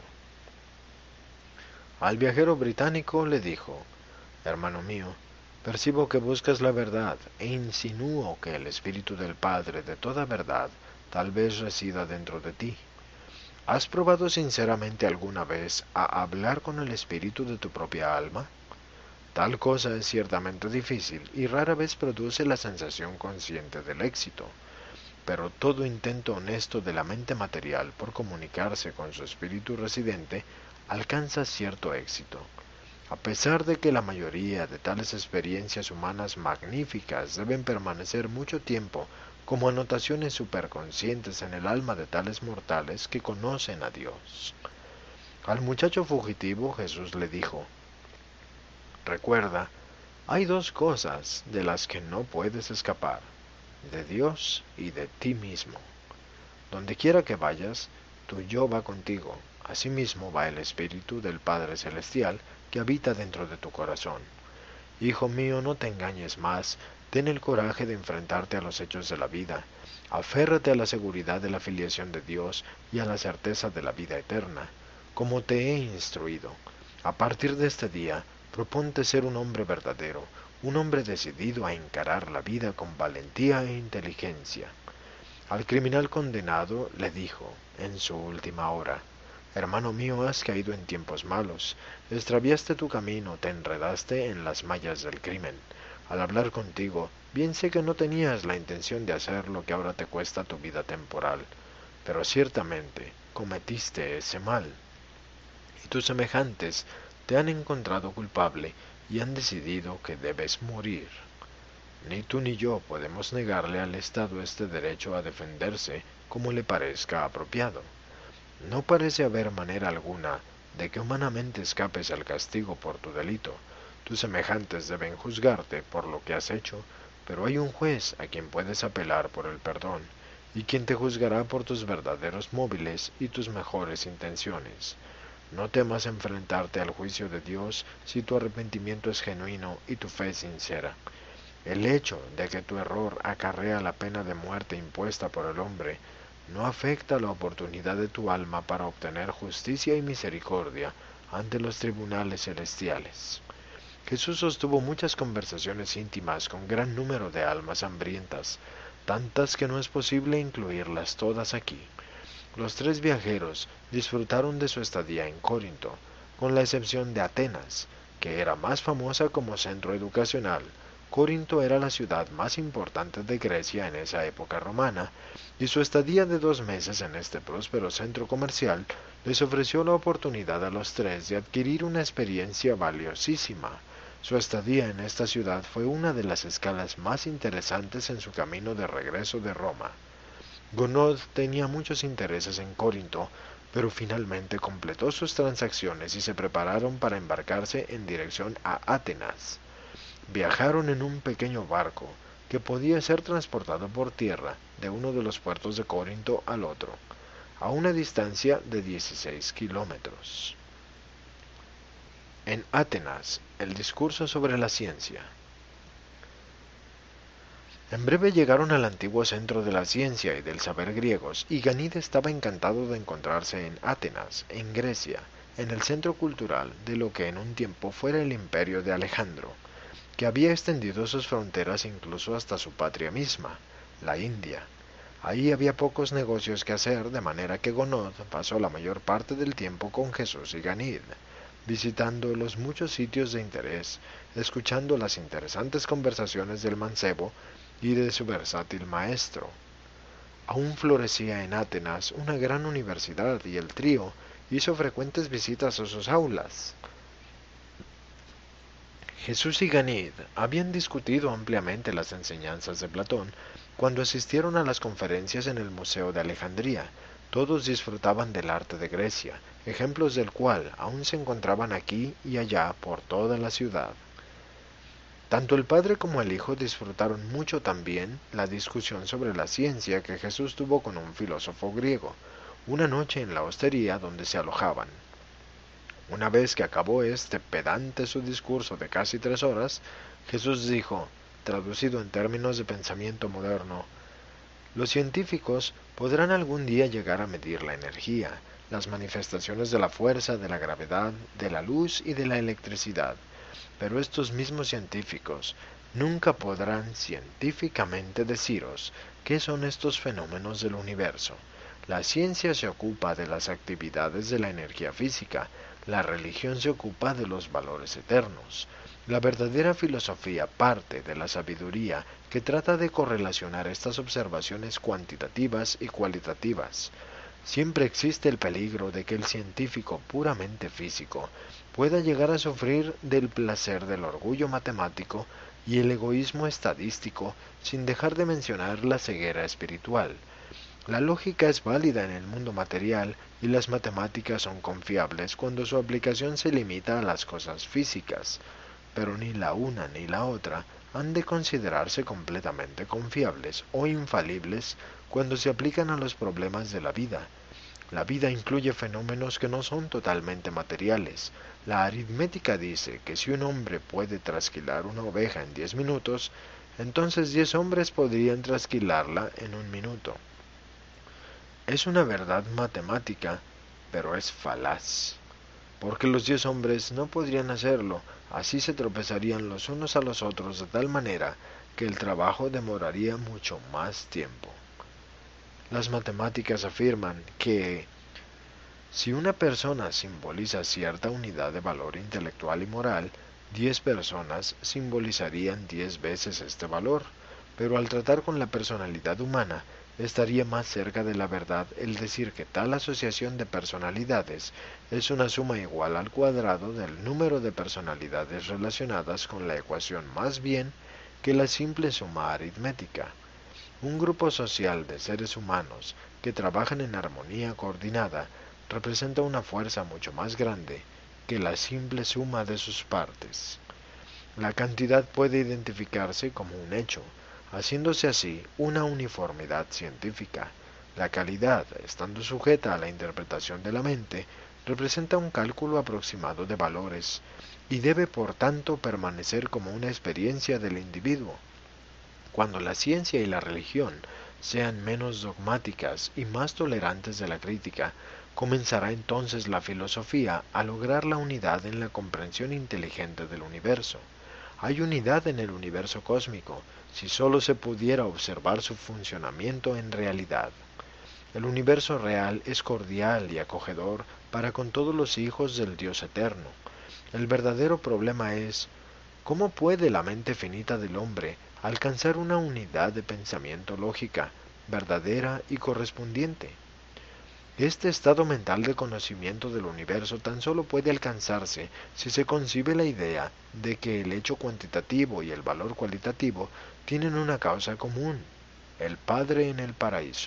Al viajero británico le dijo: hermano mío, percibo que buscas la verdad e insinúo que el Espíritu del Padre de toda verdad tal vez resida dentro de ti. ¿Has probado sinceramente alguna vez a hablar con el Espíritu de tu propia alma? Tal cosa es ciertamente difícil y rara vez produce la sensación consciente del éxito. Pero todo intento honesto de la mente material por comunicarse con su espíritu residente alcanza cierto éxito. A pesar de que la mayoría de tales experiencias humanas magníficas deben permanecer mucho tiempo como anotaciones superconscientes en el alma de tales mortales que conocen a Dios. Al muchacho fugitivo Jesús le dijo: recuerda, hay dos cosas de las que no puedes escapar: de Dios y de ti mismo. Donde quiera que vayas, tu yo va contigo, asimismo va el Espíritu del Padre Celestial que habita dentro de tu corazón. Hijo mío, no te engañes más, ten el coraje de enfrentarte a los hechos de la vida, aférrate a la seguridad de la filiación de Dios y a la certeza de la vida eterna, como te he instruido. A partir de este día, proponte ser un hombre verdadero, un hombre decidido a encarar la vida con valentía e inteligencia. Al criminal condenado le dijo, en su última hora, hermano mío, has caído en tiempos malos, extraviaste tu camino, te enredaste en las mallas del crimen. Al hablar contigo, bien sé que no tenías la intención de hacer lo que ahora te cuesta tu vida temporal, pero ciertamente cometiste ese mal. Y tus semejantes te han encontrado culpable y han decidido que debes morir. Ni tú ni yo podemos negarle al Estado este derecho a defenderse como le parezca apropiado. No parece haber manera alguna de que humanamente escapes al castigo por tu delito. Tus semejantes deben juzgarte por lo que has hecho, pero hay un juez a quien puedes apelar por el perdón, y quien te juzgará por tus verdaderos móviles y tus mejores intenciones. No temas enfrentarte al juicio de Dios si tu arrepentimiento es genuino y tu fe sincera. El hecho de que tu error acarrea la pena de muerte impuesta por el hombre no afecta la oportunidad de tu alma para obtener justicia y misericordia ante los tribunales celestiales. Jesús sostuvo muchas conversaciones íntimas con gran número de almas hambrientas, tantas que no es posible incluirlas todas aquí. Los tres viajeros disfrutaron de su estadía en Corinto, con la excepción de Atenas, que era más famosa como centro educacional. Corinto era la ciudad más importante de Grecia en esa época romana, y su estadía de dos meses en este próspero centro comercial les ofreció la oportunidad a los tres de adquirir una experiencia valiosísima. Su estadía en esta ciudad fue una de las escalas más interesantes en su camino de regreso de Roma. Gounod tenía muchos intereses en Corinto, pero finalmente completó sus transacciones y se prepararon para embarcarse en dirección a Atenas. Viajaron en un pequeño barco que podía ser transportado por tierra de uno de los puertos de Corinto al otro, a una distancia de dieciséis kilómetros. En Atenas, el discurso sobre la ciencia. En breve llegaron al antiguo centro de la ciencia y del saber griegos, y Ganid estaba encantado de encontrarse en Atenas, en Grecia, en el centro cultural de lo que en un tiempo fuera el imperio de Alejandro, que había extendido sus fronteras incluso hasta su patria misma, la India. Ahí había pocos negocios que hacer, de manera que Gounod pasó la mayor parte del tiempo con Jesús y Ganid, visitando los muchos sitios de interés, escuchando las interesantes conversaciones del mancebo y de su versátil maestro. Aún florecía en Atenas una gran universidad y el trío hizo frecuentes visitas a sus aulas. Jesús y Ganid habían discutido ampliamente las enseñanzas de Platón cuando asistieron a las conferencias en el Museo de Alejandría. Todos disfrutaban del arte de Grecia, ejemplos del cual aún se encontraban aquí y allá por toda la ciudad. Tanto el padre como el hijo disfrutaron mucho también la discusión sobre la ciencia que Jesús tuvo con un filósofo griego, una noche en la hostería donde se alojaban. Una vez que acabó este pedante su discurso de casi tres horas, Jesús dijo, traducido en términos de pensamiento moderno, los científicos podrán algún día llegar a medir la energía, las manifestaciones de la fuerza, de la gravedad, de la luz y de la electricidad, pero estos mismos científicos nunca podrán científicamente deciros qué son estos fenómenos del universo. La ciencia se ocupa de las actividades de la energía física, la religión se ocupa de los valores eternos. La verdadera filosofía parte de la sabiduría que trata de correlacionar estas observaciones cuantitativas y cualitativas. Siempre existe el peligro de que el científico puramente físico pueda llegar a sufrir del placer del orgullo matemático y el egoísmo estadístico sin dejar de mencionar la ceguera espiritual. La lógica es válida en el mundo material y las matemáticas son confiables cuando su aplicación se limita a las cosas físicas, pero ni la una ni la otra han de considerarse completamente confiables o infalibles cuando se aplican a los problemas de la vida. La vida incluye fenómenos que no son totalmente materiales. La aritmética dice que si un hombre puede trasquilar una oveja en diez minutos, entonces diez hombres podrían trasquilarla en un minuto. Es una verdad matemática, pero es falaz, porque los diez hombres no podrían hacerlo, así se tropezarían los unos a los otros de tal manera que el trabajo demoraría mucho más tiempo. Las matemáticas afirman que si una persona simboliza cierta unidad de valor intelectual y moral, diez personas simbolizarían diez veces este valor, pero al tratar con la personalidad humana, estaría más cerca de la verdad el decir que tal asociación de personalidades es una suma igual al cuadrado del número de personalidades relacionadas con la ecuación más bien que la simple suma aritmética. Un grupo social de seres humanos que trabajan en armonía coordinada representa una fuerza mucho más grande que la simple suma de sus partes. La cantidad puede identificarse como un hecho, haciéndose así una uniformidad científica. La calidad, estando sujeta a la interpretación de la mente, representa un cálculo aproximado de valores, y debe por tanto permanecer como una experiencia del individuo. Cuando la ciencia y la religión sean menos dogmáticas y más tolerantes de la crítica, comenzará entonces la filosofía a lograr la unidad en la comprensión inteligente del universo. Hay unidad en el universo cósmico, si sólo se pudiera observar su funcionamiento en realidad. El universo real es cordial y acogedor para con todos los hijos del Dios eterno. El verdadero problema es, ¿cómo puede la mente finita del hombre alcanzar una unidad de pensamiento lógica, verdadera y correspondiente? Este estado mental de conocimiento del universo tan solo puede alcanzarse si se concibe la idea de que el hecho cuantitativo y el valor cualitativo tienen una causa común, el Padre en el paraíso.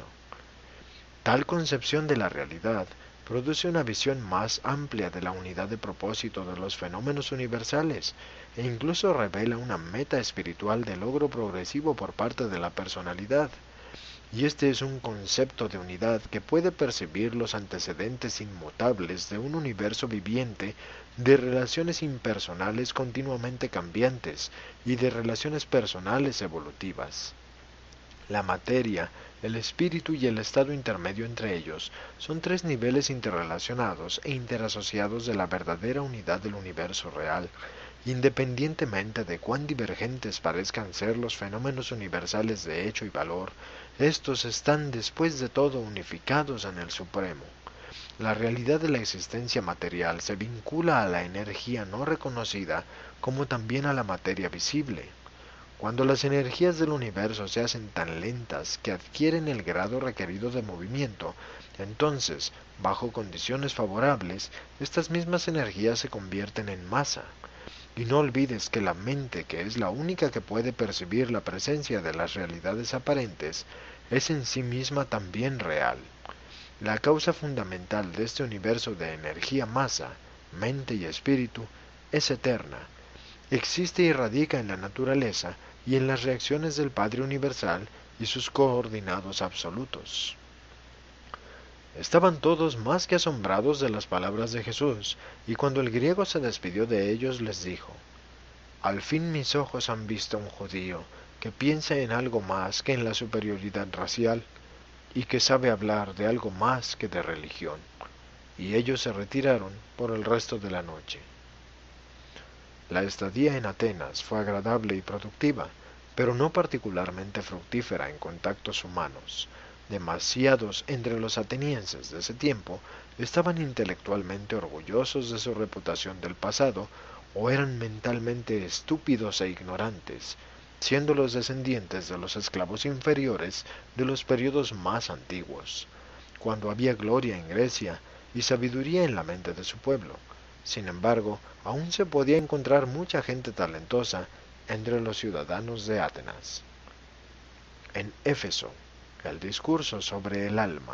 Tal concepción de la realidad produce una visión más amplia de la unidad de propósito de los fenómenos universales e incluso revela una meta espiritual de logro progresivo por parte de la personalidad. Y este es un concepto de unidad que puede percibir los antecedentes inmutables de un universo viviente de relaciones impersonales continuamente cambiantes y de relaciones personales evolutivas. La materia, el espíritu y el estado intermedio entre ellos son tres niveles interrelacionados e interasociados de la verdadera unidad del universo real, independientemente de cuán divergentes parezcan ser los fenómenos universales de hecho y valor. Estos están después de todo unificados en el Supremo. La realidad de la existencia material se vincula a la energía no reconocida como también a la materia visible. Cuando las energías del universo se hacen tan lentas que adquieren el grado requerido de movimiento, entonces, bajo condiciones favorables, estas mismas energías se convierten en masa. Y no olvides que la mente, que es la única que puede percibir la presencia de las realidades aparentes, es en sí misma también real. La causa fundamental de este universo de energía-masa, mente y espíritu, es eterna. Existe y radica en la naturaleza y en las reacciones del Padre Universal y sus coordinados absolutos. Estaban todos más que asombrados de las palabras de Jesús, y cuando el griego se despidió de ellos les dijo: «Al fin mis ojos han visto a un judío que piensa en algo más que en la superioridad racial, y que sabe hablar de algo más que de religión». Y ellos se retiraron por el resto de la noche. La estadía en Atenas fue agradable y productiva, pero no particularmente fructífera en contactos humanos. Demasiados entre los atenienses de ese tiempo estaban intelectualmente orgullosos de su reputación del pasado o eran mentalmente estúpidos e ignorantes, siendo los descendientes de los esclavos inferiores de los periodos más antiguos, cuando había gloria en Grecia y sabiduría en la mente de su pueblo. Sin embargo, aún se podía encontrar mucha gente talentosa entre los ciudadanos de Atenas. En Éfeso, el discurso sobre el alma.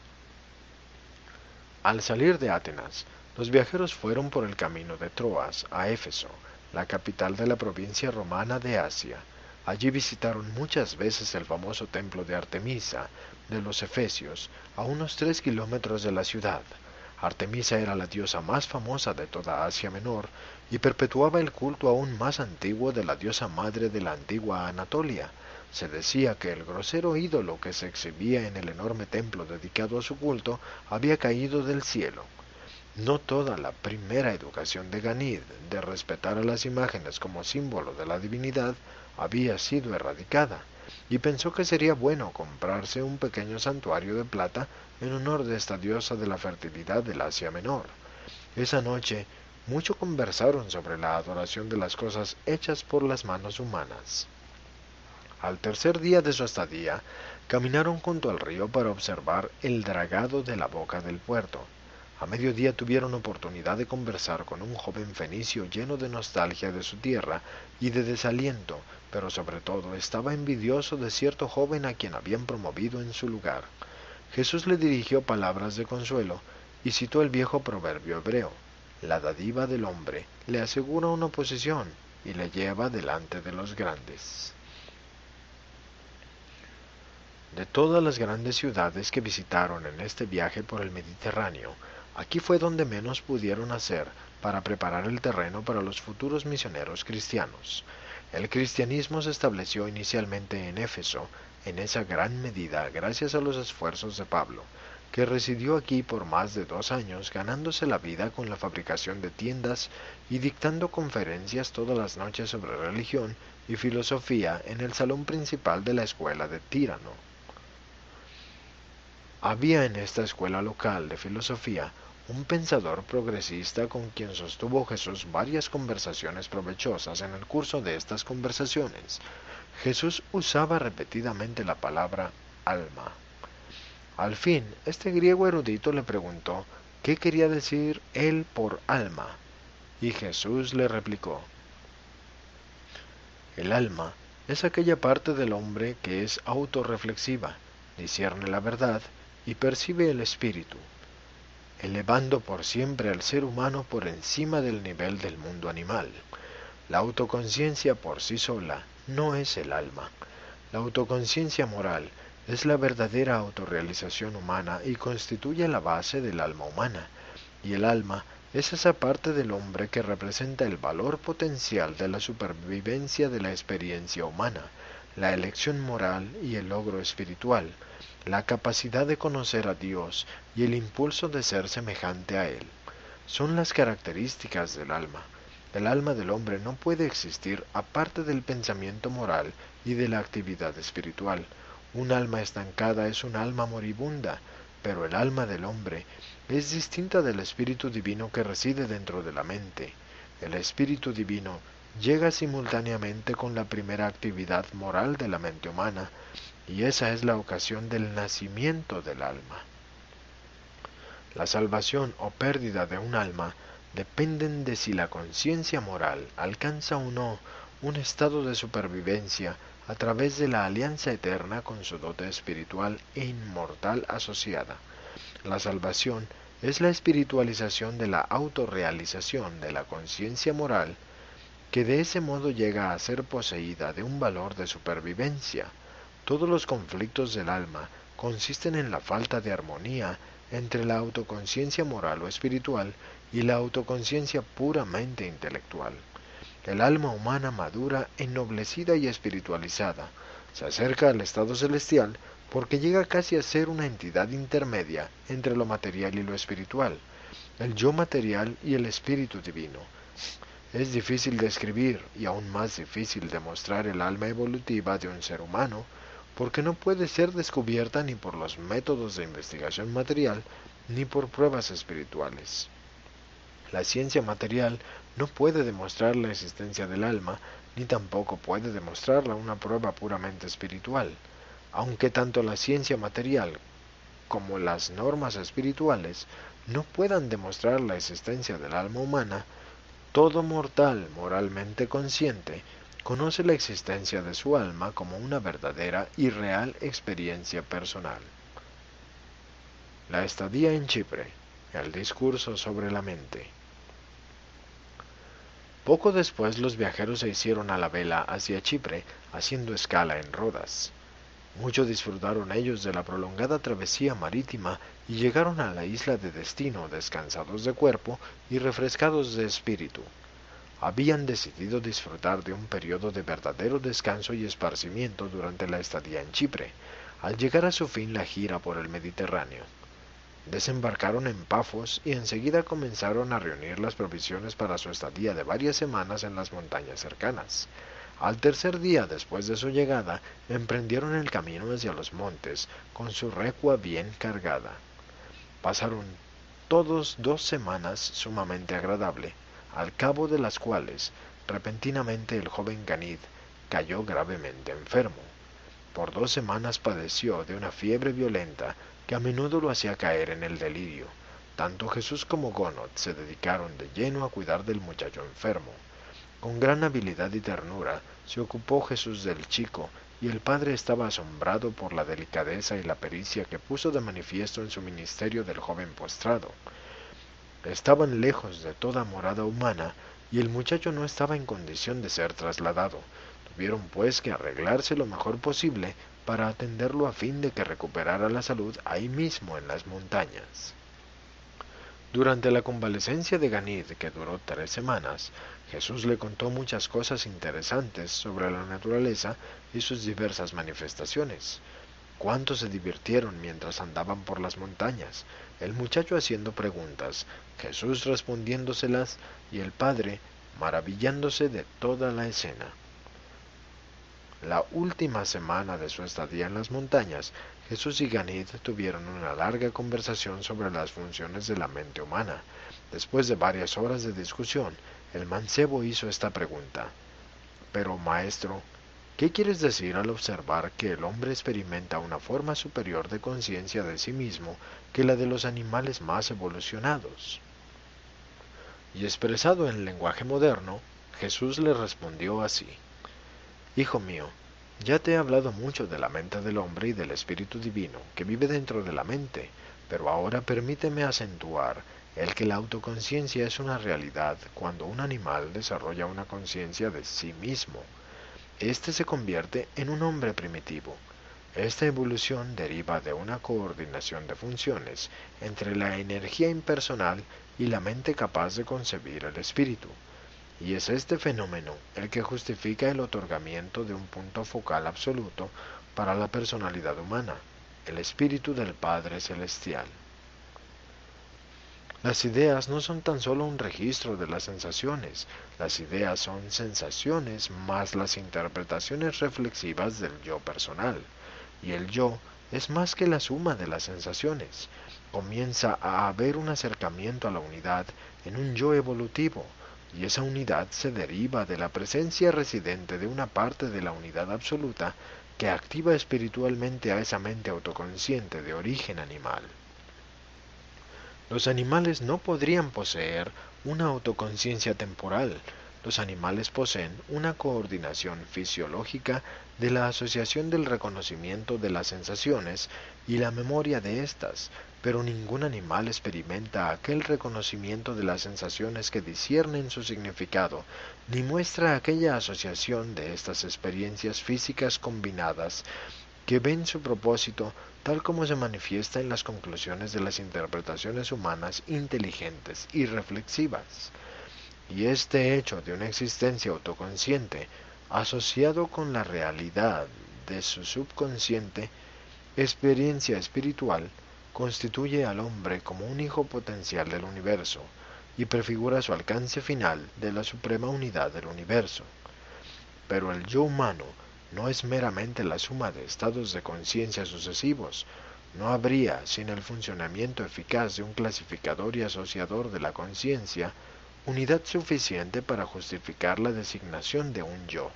Al salir de Atenas, los viajeros fueron por el camino de Troas a Éfeso, la capital de la provincia romana de Asia. Allí visitaron muchas veces el famoso templo de Artemisa de los Efesios, a unos tres kilómetros de la ciudad. Artemisa era la diosa más famosa de toda Asia Menor y perpetuaba el culto aún más antiguo de la diosa madre de la antigua Anatolia. Se decía que el grosero ídolo que se exhibía en el enorme templo dedicado a su culto había caído del cielo. No toda la primera educación de Ganid, de respetar a las imágenes como símbolo de la divinidad, había sido erradicada, y pensó que sería bueno comprarse un pequeño santuario de plata en honor de esta diosa de la fertilidad del Asia Menor. Esa noche, mucho conversaron sobre la adoración de las cosas hechas por las manos humanas. Al tercer día de su estadía, caminaron junto al río para observar el dragado de la boca del puerto. A mediodía tuvieron oportunidad de conversar con un joven fenicio lleno de nostalgia de su tierra y de desaliento, pero sobre todo estaba envidioso de cierto joven a quien habían promovido en su lugar. Jesús le dirigió palabras de consuelo y citó el viejo proverbio hebreo: la dádiva del hombre le asegura una posición y le lleva delante de los grandes. De todas las grandes ciudades que visitaron en este viaje por el Mediterráneo, aquí fue donde menos pudieron hacer para preparar el terreno para los futuros misioneros cristianos. El cristianismo se estableció inicialmente en Éfeso, en esa gran medida gracias a los esfuerzos de Pablo, que residió aquí por más de dos años ganándose la vida con la fabricación de tiendas y dictando conferencias todas las noches sobre religión y filosofía en el salón principal de la escuela de Tírano. Había en esta escuela local de filosofía un pensador progresista con quien sostuvo Jesús varias conversaciones provechosas. En el curso de estas conversaciones, Jesús usaba repetidamente la palabra alma. Al fin, este griego erudito le preguntó qué quería decir él por alma, y Jesús le replicó: el alma es aquella parte del hombre que es autorreflexiva, discierne la verdad y percibe el espíritu, elevando por siempre al ser humano por encima del nivel del mundo animal. La autoconciencia por sí sola no es el alma. La autoconciencia moral es la verdadera autorrealización humana y constituye la base del alma humana, y el alma es esa parte del hombre que representa el valor potencial de la supervivencia de la experiencia humana, la elección moral y el logro espiritual, la capacidad de conocer a Dios y el impulso de ser semejante a Él. Son las características del alma. El alma del hombre no puede existir aparte del pensamiento moral y de la actividad espiritual. Un alma estancada es un alma moribunda, pero el alma del hombre es distinta del espíritu divino que reside dentro de la mente. El espíritu divino llega simultáneamente con la primera actividad moral de la mente humana, y esa es la ocasión del nacimiento del alma. La salvación o pérdida de un alma dependen de si la conciencia moral alcanza o no un estado de supervivencia a través de la alianza eterna con su dote espiritual e inmortal asociada. La salvación es la espiritualización de la autorrealización de la conciencia moral, que de ese modo llega a ser poseída de un valor de supervivencia. Todos los conflictos del alma consisten en la falta de armonía entre la autoconciencia moral o espiritual y la autoconciencia puramente intelectual. El alma humana madura, ennoblecida y espiritualizada, se acerca al estado celestial porque llega casi a ser una entidad intermedia entre lo material y lo espiritual, el yo material y el espíritu divino. Es difícil describir y aún más difícil demostrar el alma evolutiva de un ser humano, porque no puede ser descubierta ni por los métodos de investigación material ni por pruebas espirituales. La ciencia material no puede demostrar la existencia del alma, ni tampoco puede demostrarla una prueba puramente espiritual. Aunque tanto la ciencia material como las normas espirituales no puedan demostrar la existencia del alma humana, todo mortal moralmente consciente conoce la existencia de su alma como una verdadera y real experiencia personal. La estadía en Chipre, el discurso sobre la mente. Poco después los viajeros se hicieron a la vela hacia Chipre, haciendo escala en Rodas. Mucho disfrutaron ellos de la prolongada travesía marítima y llegaron a la isla de destino descansados de cuerpo y refrescados de espíritu. Habían decidido disfrutar de un periodo de verdadero descanso y esparcimiento durante la estadía en Chipre, al llegar a su fin la gira por el Mediterráneo. Desembarcaron en Pafos y enseguida comenzaron a reunir las provisiones para su estadía de varias semanas en las montañas cercanas. Al tercer día después de su llegada, emprendieron el camino hacia los montes, con su recua bien cargada. Pasaron todos dos semanas sumamente agradable, al cabo de las cuales, repentinamente el joven Ganid cayó gravemente enfermo. Por dos semanas padeció de una fiebre violenta que a menudo lo hacía caer en el delirio. Tanto Jesús como Gonod se dedicaron de lleno a cuidar del muchacho enfermo. Con gran habilidad y ternura se ocupó Jesús del chico, y el padre estaba asombrado por la delicadeza y la pericia que puso de manifiesto en su ministerio del joven postrado. Estaban lejos de toda morada humana, y el muchacho no estaba en condición de ser trasladado. Tuvieron pues que arreglarse lo mejor posible para atenderlo a fin de que recuperara la salud ahí mismo en las montañas. Durante la convalecencia de Ganid, que duró tres semanas, Jesús le contó muchas cosas interesantes sobre la naturaleza y sus diversas manifestaciones. Cuánto se divirtieron mientras andaban por las montañas, el muchacho haciendo preguntas, Jesús respondiéndoselas y el padre maravillándose de toda la escena. La última semana de su estadía en las montañas, Jesús y Ganid tuvieron una larga conversación sobre las funciones de la mente humana. Después de varias horas de discusión, el mancebo hizo esta pregunta: «Pero, maestro, ¿qué quieres decir al observar que el hombre experimenta una forma superior de conciencia de sí mismo que la de los animales más evolucionados?» Y expresado en lenguaje moderno, Jesús le respondió así: «Hijo mío, ya te he hablado mucho de la mente del hombre y del espíritu divino que vive dentro de la mente, pero ahora permíteme acentuar el que la autoconciencia es una realidad cuando un animal desarrolla una conciencia de sí mismo. Éste se convierte en un hombre primitivo. Esta evolución deriva de una coordinación de funciones entre la energía impersonal y la mente capaz de concebir el espíritu. Y es este fenómeno el que justifica el otorgamiento de un punto focal absoluto para la personalidad humana, el espíritu del Padre Celestial. Las ideas no son tan solo un registro de las sensaciones, las ideas son sensaciones más las interpretaciones reflexivas del yo personal, y el yo es más que la suma de las sensaciones. Comienza a haber un acercamiento a la unidad en un yo evolutivo, y esa unidad se deriva de la presencia residente de una parte de la unidad absoluta que activa espiritualmente a esa mente autoconsciente de origen animal. Los animales no podrían poseer una autoconciencia temporal. Los animales poseen una coordinación fisiológica de la asociación del reconocimiento de las sensaciones y la memoria de éstas, pero ningún animal experimenta aquel reconocimiento de las sensaciones que disciernen su significado, ni muestra aquella asociación de estas experiencias físicas combinadas que ven su propósito tal como se manifiesta en las conclusiones de las interpretaciones humanas inteligentes y reflexivas. Y este hecho de una existencia autoconsciente, asociado con la realidad de su subconsciente experiencia espiritual, constituye al hombre como un hijo potencial del universo y prefigura su alcance final de la suprema unidad del universo. Pero el yo humano no es meramente la suma de estados de conciencia sucesivos. No habría, sin el funcionamiento eficaz de un clasificador y asociador de la conciencia, unidad suficiente para justificar la designación de un yo.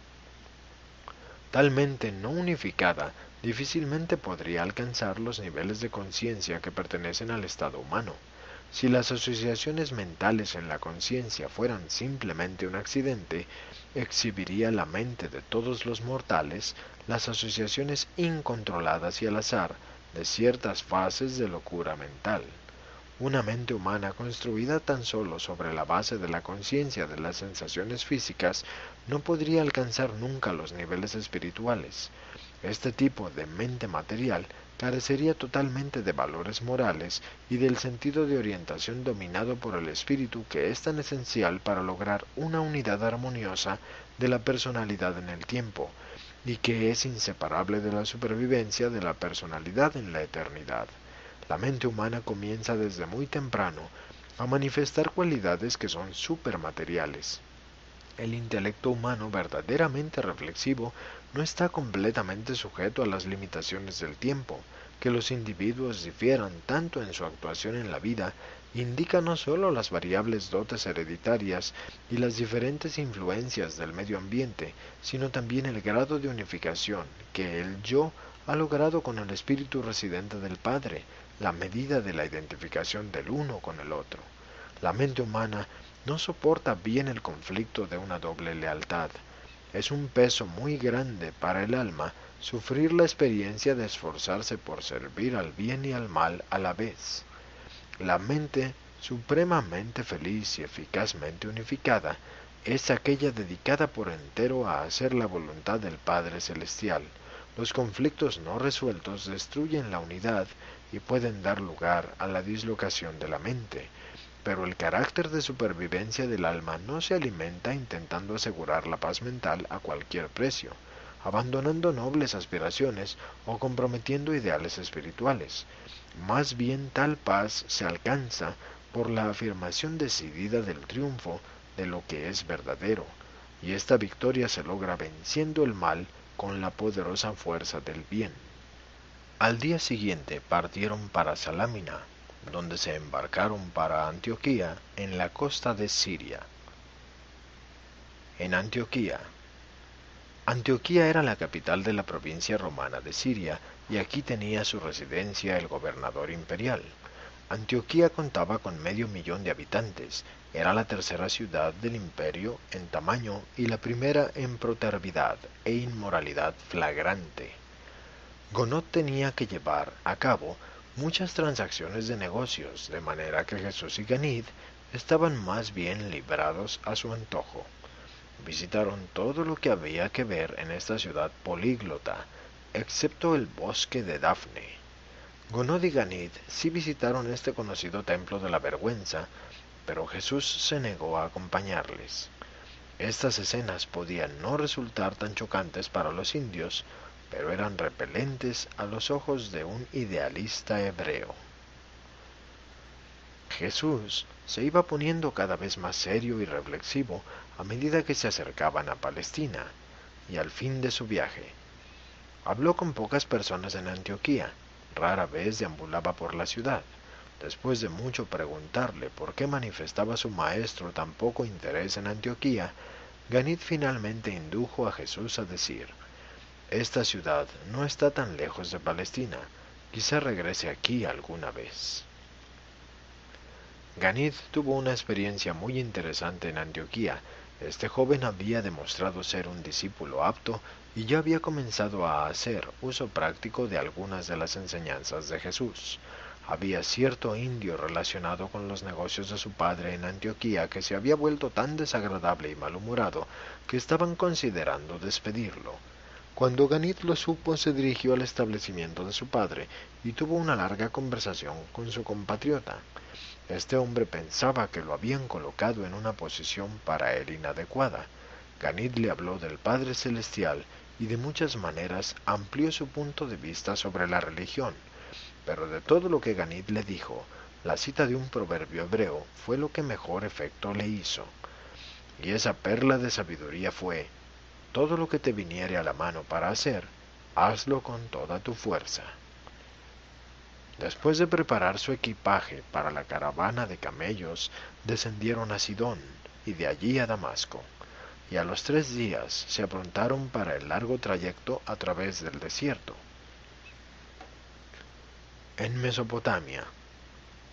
Tal mente no unificada difícilmente podría alcanzar los niveles de conciencia que pertenecen al estado humano. Si las asociaciones mentales en la conciencia fueran simplemente un accidente, exhibiría la mente de todos los mortales las asociaciones incontroladas y al azar de ciertas fases de locura mental. Una mente humana construida tan solo sobre la base de la conciencia de las sensaciones físicas no podría alcanzar nunca los niveles espirituales. Este tipo de mente material carecería totalmente de valores morales y del sentido de orientación dominado por el espíritu que es tan esencial para lograr una unidad armoniosa de la personalidad en el tiempo, y que es inseparable de la supervivencia de la personalidad en la eternidad. La mente humana comienza desde muy temprano a manifestar cualidades que son supermateriales. El intelecto humano verdaderamente reflexivo no está completamente sujeto a las limitaciones del tiempo. Que los individuos difieran tanto en su actuación en la vida indica no solo las variables dotes hereditarias y las diferentes influencias del medio ambiente, sino también el grado de unificación que el yo ha logrado con el espíritu residente del Padre, la medida de la identificación del uno con el otro. La mente humana no soporta bien el conflicto de una doble lealtad. Es un peso muy grande para el alma sufrir la experiencia de esforzarse por servir al bien y al mal a la vez. La mente supremamente feliz y eficazmente unificada es aquella dedicada por entero a hacer la voluntad del Padre Celestial. Los conflictos no resueltos destruyen la unidad y pueden dar lugar a la dislocación de la mente, pero el carácter de supervivencia del alma no se alimenta intentando asegurar la paz mental a cualquier precio, abandonando nobles aspiraciones o comprometiendo ideales espirituales. Más bien tal paz se alcanza por la afirmación decidida del triunfo de lo que es verdadero, y esta victoria se logra venciendo el mal con la poderosa fuerza del bien. Al día siguiente partieron para Salamina, donde se embarcaron para Antioquía, en la costa de Siria. En Antioquía. Antioquía era la capital de la provincia romana de Siria, y aquí tenía su residencia el gobernador imperial. Antioquía contaba con medio millón de habitantes, era la tercera ciudad del imperio en tamaño y la primera en protervidad e inmoralidad flagrante. Gonot tenía que llevar a cabo muchas transacciones de negocios, de manera que Jesús y Ganid estaban más bien librados a su antojo. Visitaron todo lo que había que ver en esta ciudad políglota, excepto el bosque de Dafne. Gonod y Ganid sí visitaron este conocido templo de la vergüenza, pero Jesús se negó a acompañarles. Estas escenas podían no resultar tan chocantes para los indios, pero eran repelentes a los ojos de un idealista hebreo. Jesús se iba poniendo cada vez más serio y reflexivo a medida que se acercaban a Palestina, y al fin de su viaje. Habló con pocas personas en Antioquía, rara vez deambulaba por la ciudad. Después de mucho preguntarle por qué manifestaba su maestro tan poco interés en Antioquía, Ganid finalmente indujo a Jesús a decir: «Esta ciudad no está tan lejos de Palestina, quizá regrese aquí alguna vez». Ganid tuvo una experiencia muy interesante en Antioquía. Este joven había demostrado ser un discípulo apto y ya había comenzado a hacer uso práctico de algunas de las enseñanzas de Jesús. Había cierto indio relacionado con los negocios de su padre en Antioquía que se había vuelto tan desagradable y malhumorado que estaban considerando despedirlo. Cuando Ganid lo supo, se dirigió al establecimiento de su padre y tuvo una larga conversación con su compatriota. Este hombre pensaba que lo habían colocado en una posición para él inadecuada. Ganid le habló del Padre Celestial y de muchas maneras amplió su punto de vista sobre la religión. Pero de todo lo que Ganid le dijo, la cita de un proverbio hebreo fue lo que mejor efecto le hizo. Y esa perla de sabiduría fue: todo lo que te viniere a la mano para hacer, hazlo con toda tu fuerza. Después de preparar su equipaje para la caravana de camellos, descendieron a Sidón y de allí a Damasco, y a los tres días se aprontaron para el largo trayecto a través del desierto. En Mesopotamia.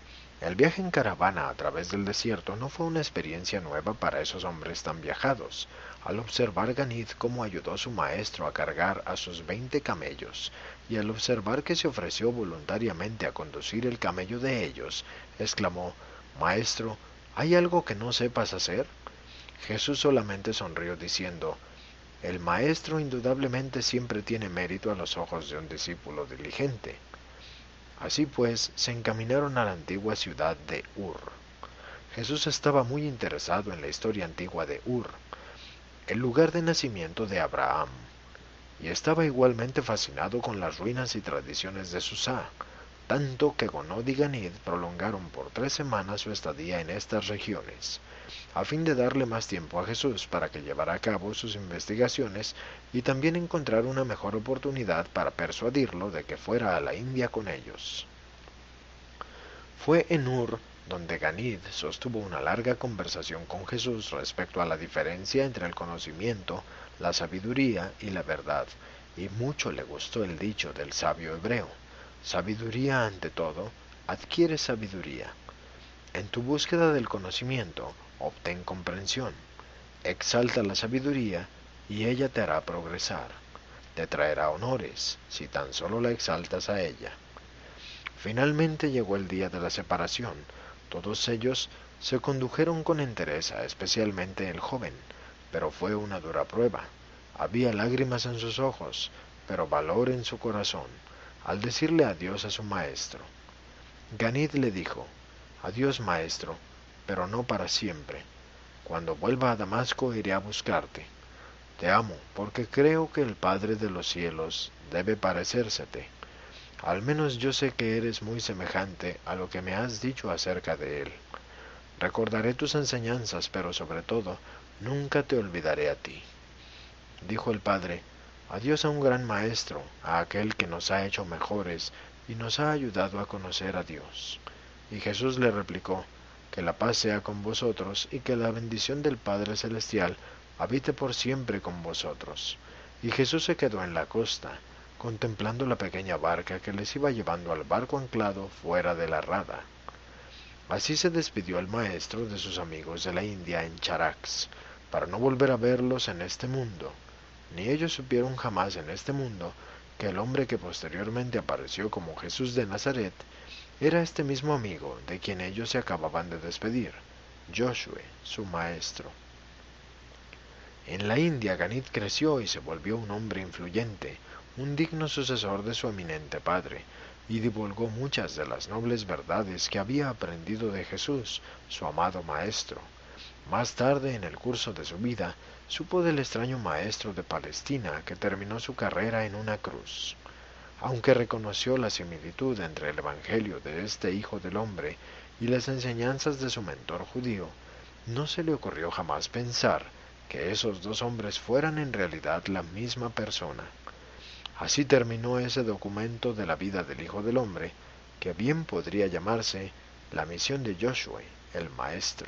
El viaje en caravana a través del desierto no fue una experiencia nueva para esos hombres tan viajados. Al observar Ganid cómo ayudó a su maestro a cargar a sus veinte camellos, y al observar que se ofreció voluntariamente a conducir el camello de ellos, exclamó: «Maestro, ¿hay algo que no sepas hacer?». Jesús solamente sonrió diciendo: «El maestro indudablemente siempre tiene mérito a los ojos de un discípulo diligente». Así pues, se encaminaron a la antigua ciudad de Ur. Jesús estaba muy interesado en la historia antigua de Ur, el lugar de nacimiento de Abraham, y estaba igualmente fascinado con las ruinas y tradiciones de Susá, tanto que Gonod y Ganid prolongaron por tres semanas su estadía en estas regiones, a fin de darle más tiempo a Jesús para que llevara a cabo sus investigaciones y también encontrar una mejor oportunidad para persuadirlo de que fuera a la India con ellos. Fue en Ur donde Ganid sostuvo una larga conversación con Jesús respecto a la diferencia entre el conocimiento, la sabiduría y la verdad, y mucho le gustó el dicho del sabio hebreo: sabiduría ante todo, adquiere sabiduría. En tu búsqueda del conocimiento, obtén comprensión. Exalta la sabiduría y ella te hará progresar. Te traerá honores si tan solo la exaltas a ella. Finalmente llegó el día de la separación. Todos ellos se condujeron con entereza, especialmente el joven, pero fue una dura prueba. Había lágrimas en sus ojos, pero valor en su corazón, al decirle adiós a su maestro. Ganid le dijo: «Adiós, maestro, pero no para siempre. Cuando vuelva a Damasco iré a buscarte. Te amo, porque creo que el Padre de los cielos debe parecérsete. Al menos yo sé que eres muy semejante a lo que me has dicho acerca de él. Recordaré tus enseñanzas, pero sobre todo, nunca te olvidaré a ti». Dijo el Padre: «Adiós a un gran maestro, a aquel que nos ha hecho mejores y nos ha ayudado a conocer a Dios». Y Jesús le replicó: «Que la paz sea con vosotros y que la bendición del Padre Celestial habite por siempre con vosotros». Y Jesús se quedó en la costa, contemplando la pequeña barca que les iba llevando al barco anclado fuera de la rada. Así se despidió el maestro de sus amigos de la India en Charax, para no volver a verlos en este mundo. Ni ellos supieron jamás en este mundo que el hombre que posteriormente apareció como Jesús de Nazaret era este mismo amigo de quien ellos se acababan de despedir, Josué, su maestro. En la India, Ganid creció y se volvió un hombre influyente, un digno sucesor de su eminente padre, y divulgó muchas de las nobles verdades que había aprendido de Jesús, su amado maestro. Más tarde, en el curso de su vida, supo del extraño maestro de Palestina que terminó su carrera en una cruz. Aunque reconoció la similitud entre el evangelio de este Hijo del Hombre y las enseñanzas de su mentor judío, no se le ocurrió jamás pensar que esos dos hombres fueran en realidad la misma persona. Así terminó ese documento de la vida del Hijo del Hombre, que bien podría llamarse la misión de Josué, el Maestro.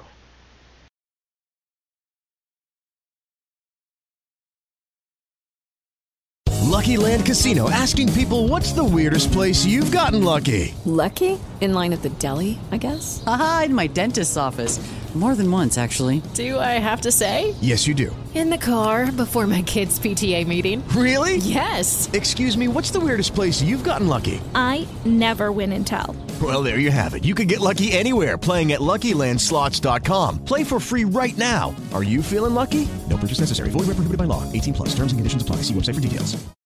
Lucky Land Casino, asking people, what's the weirdest place you've gotten lucky? Lucky? In line at the deli, I guess? Aha, in my dentist's office. More than once, actually. Do I have to say? Yes, you do. In the car before my kids' P T A meeting. Really? Yes. Excuse me, what's the weirdest place you've gotten lucky? I never win and tell. Well, there you have it. You can get lucky anywhere, playing at Lucky Land Slots dot com. Play for free right now. Are you feeling lucky? No purchase necessary. Void where prohibited by law. eighteen plus. Terms and conditions apply. See website for details.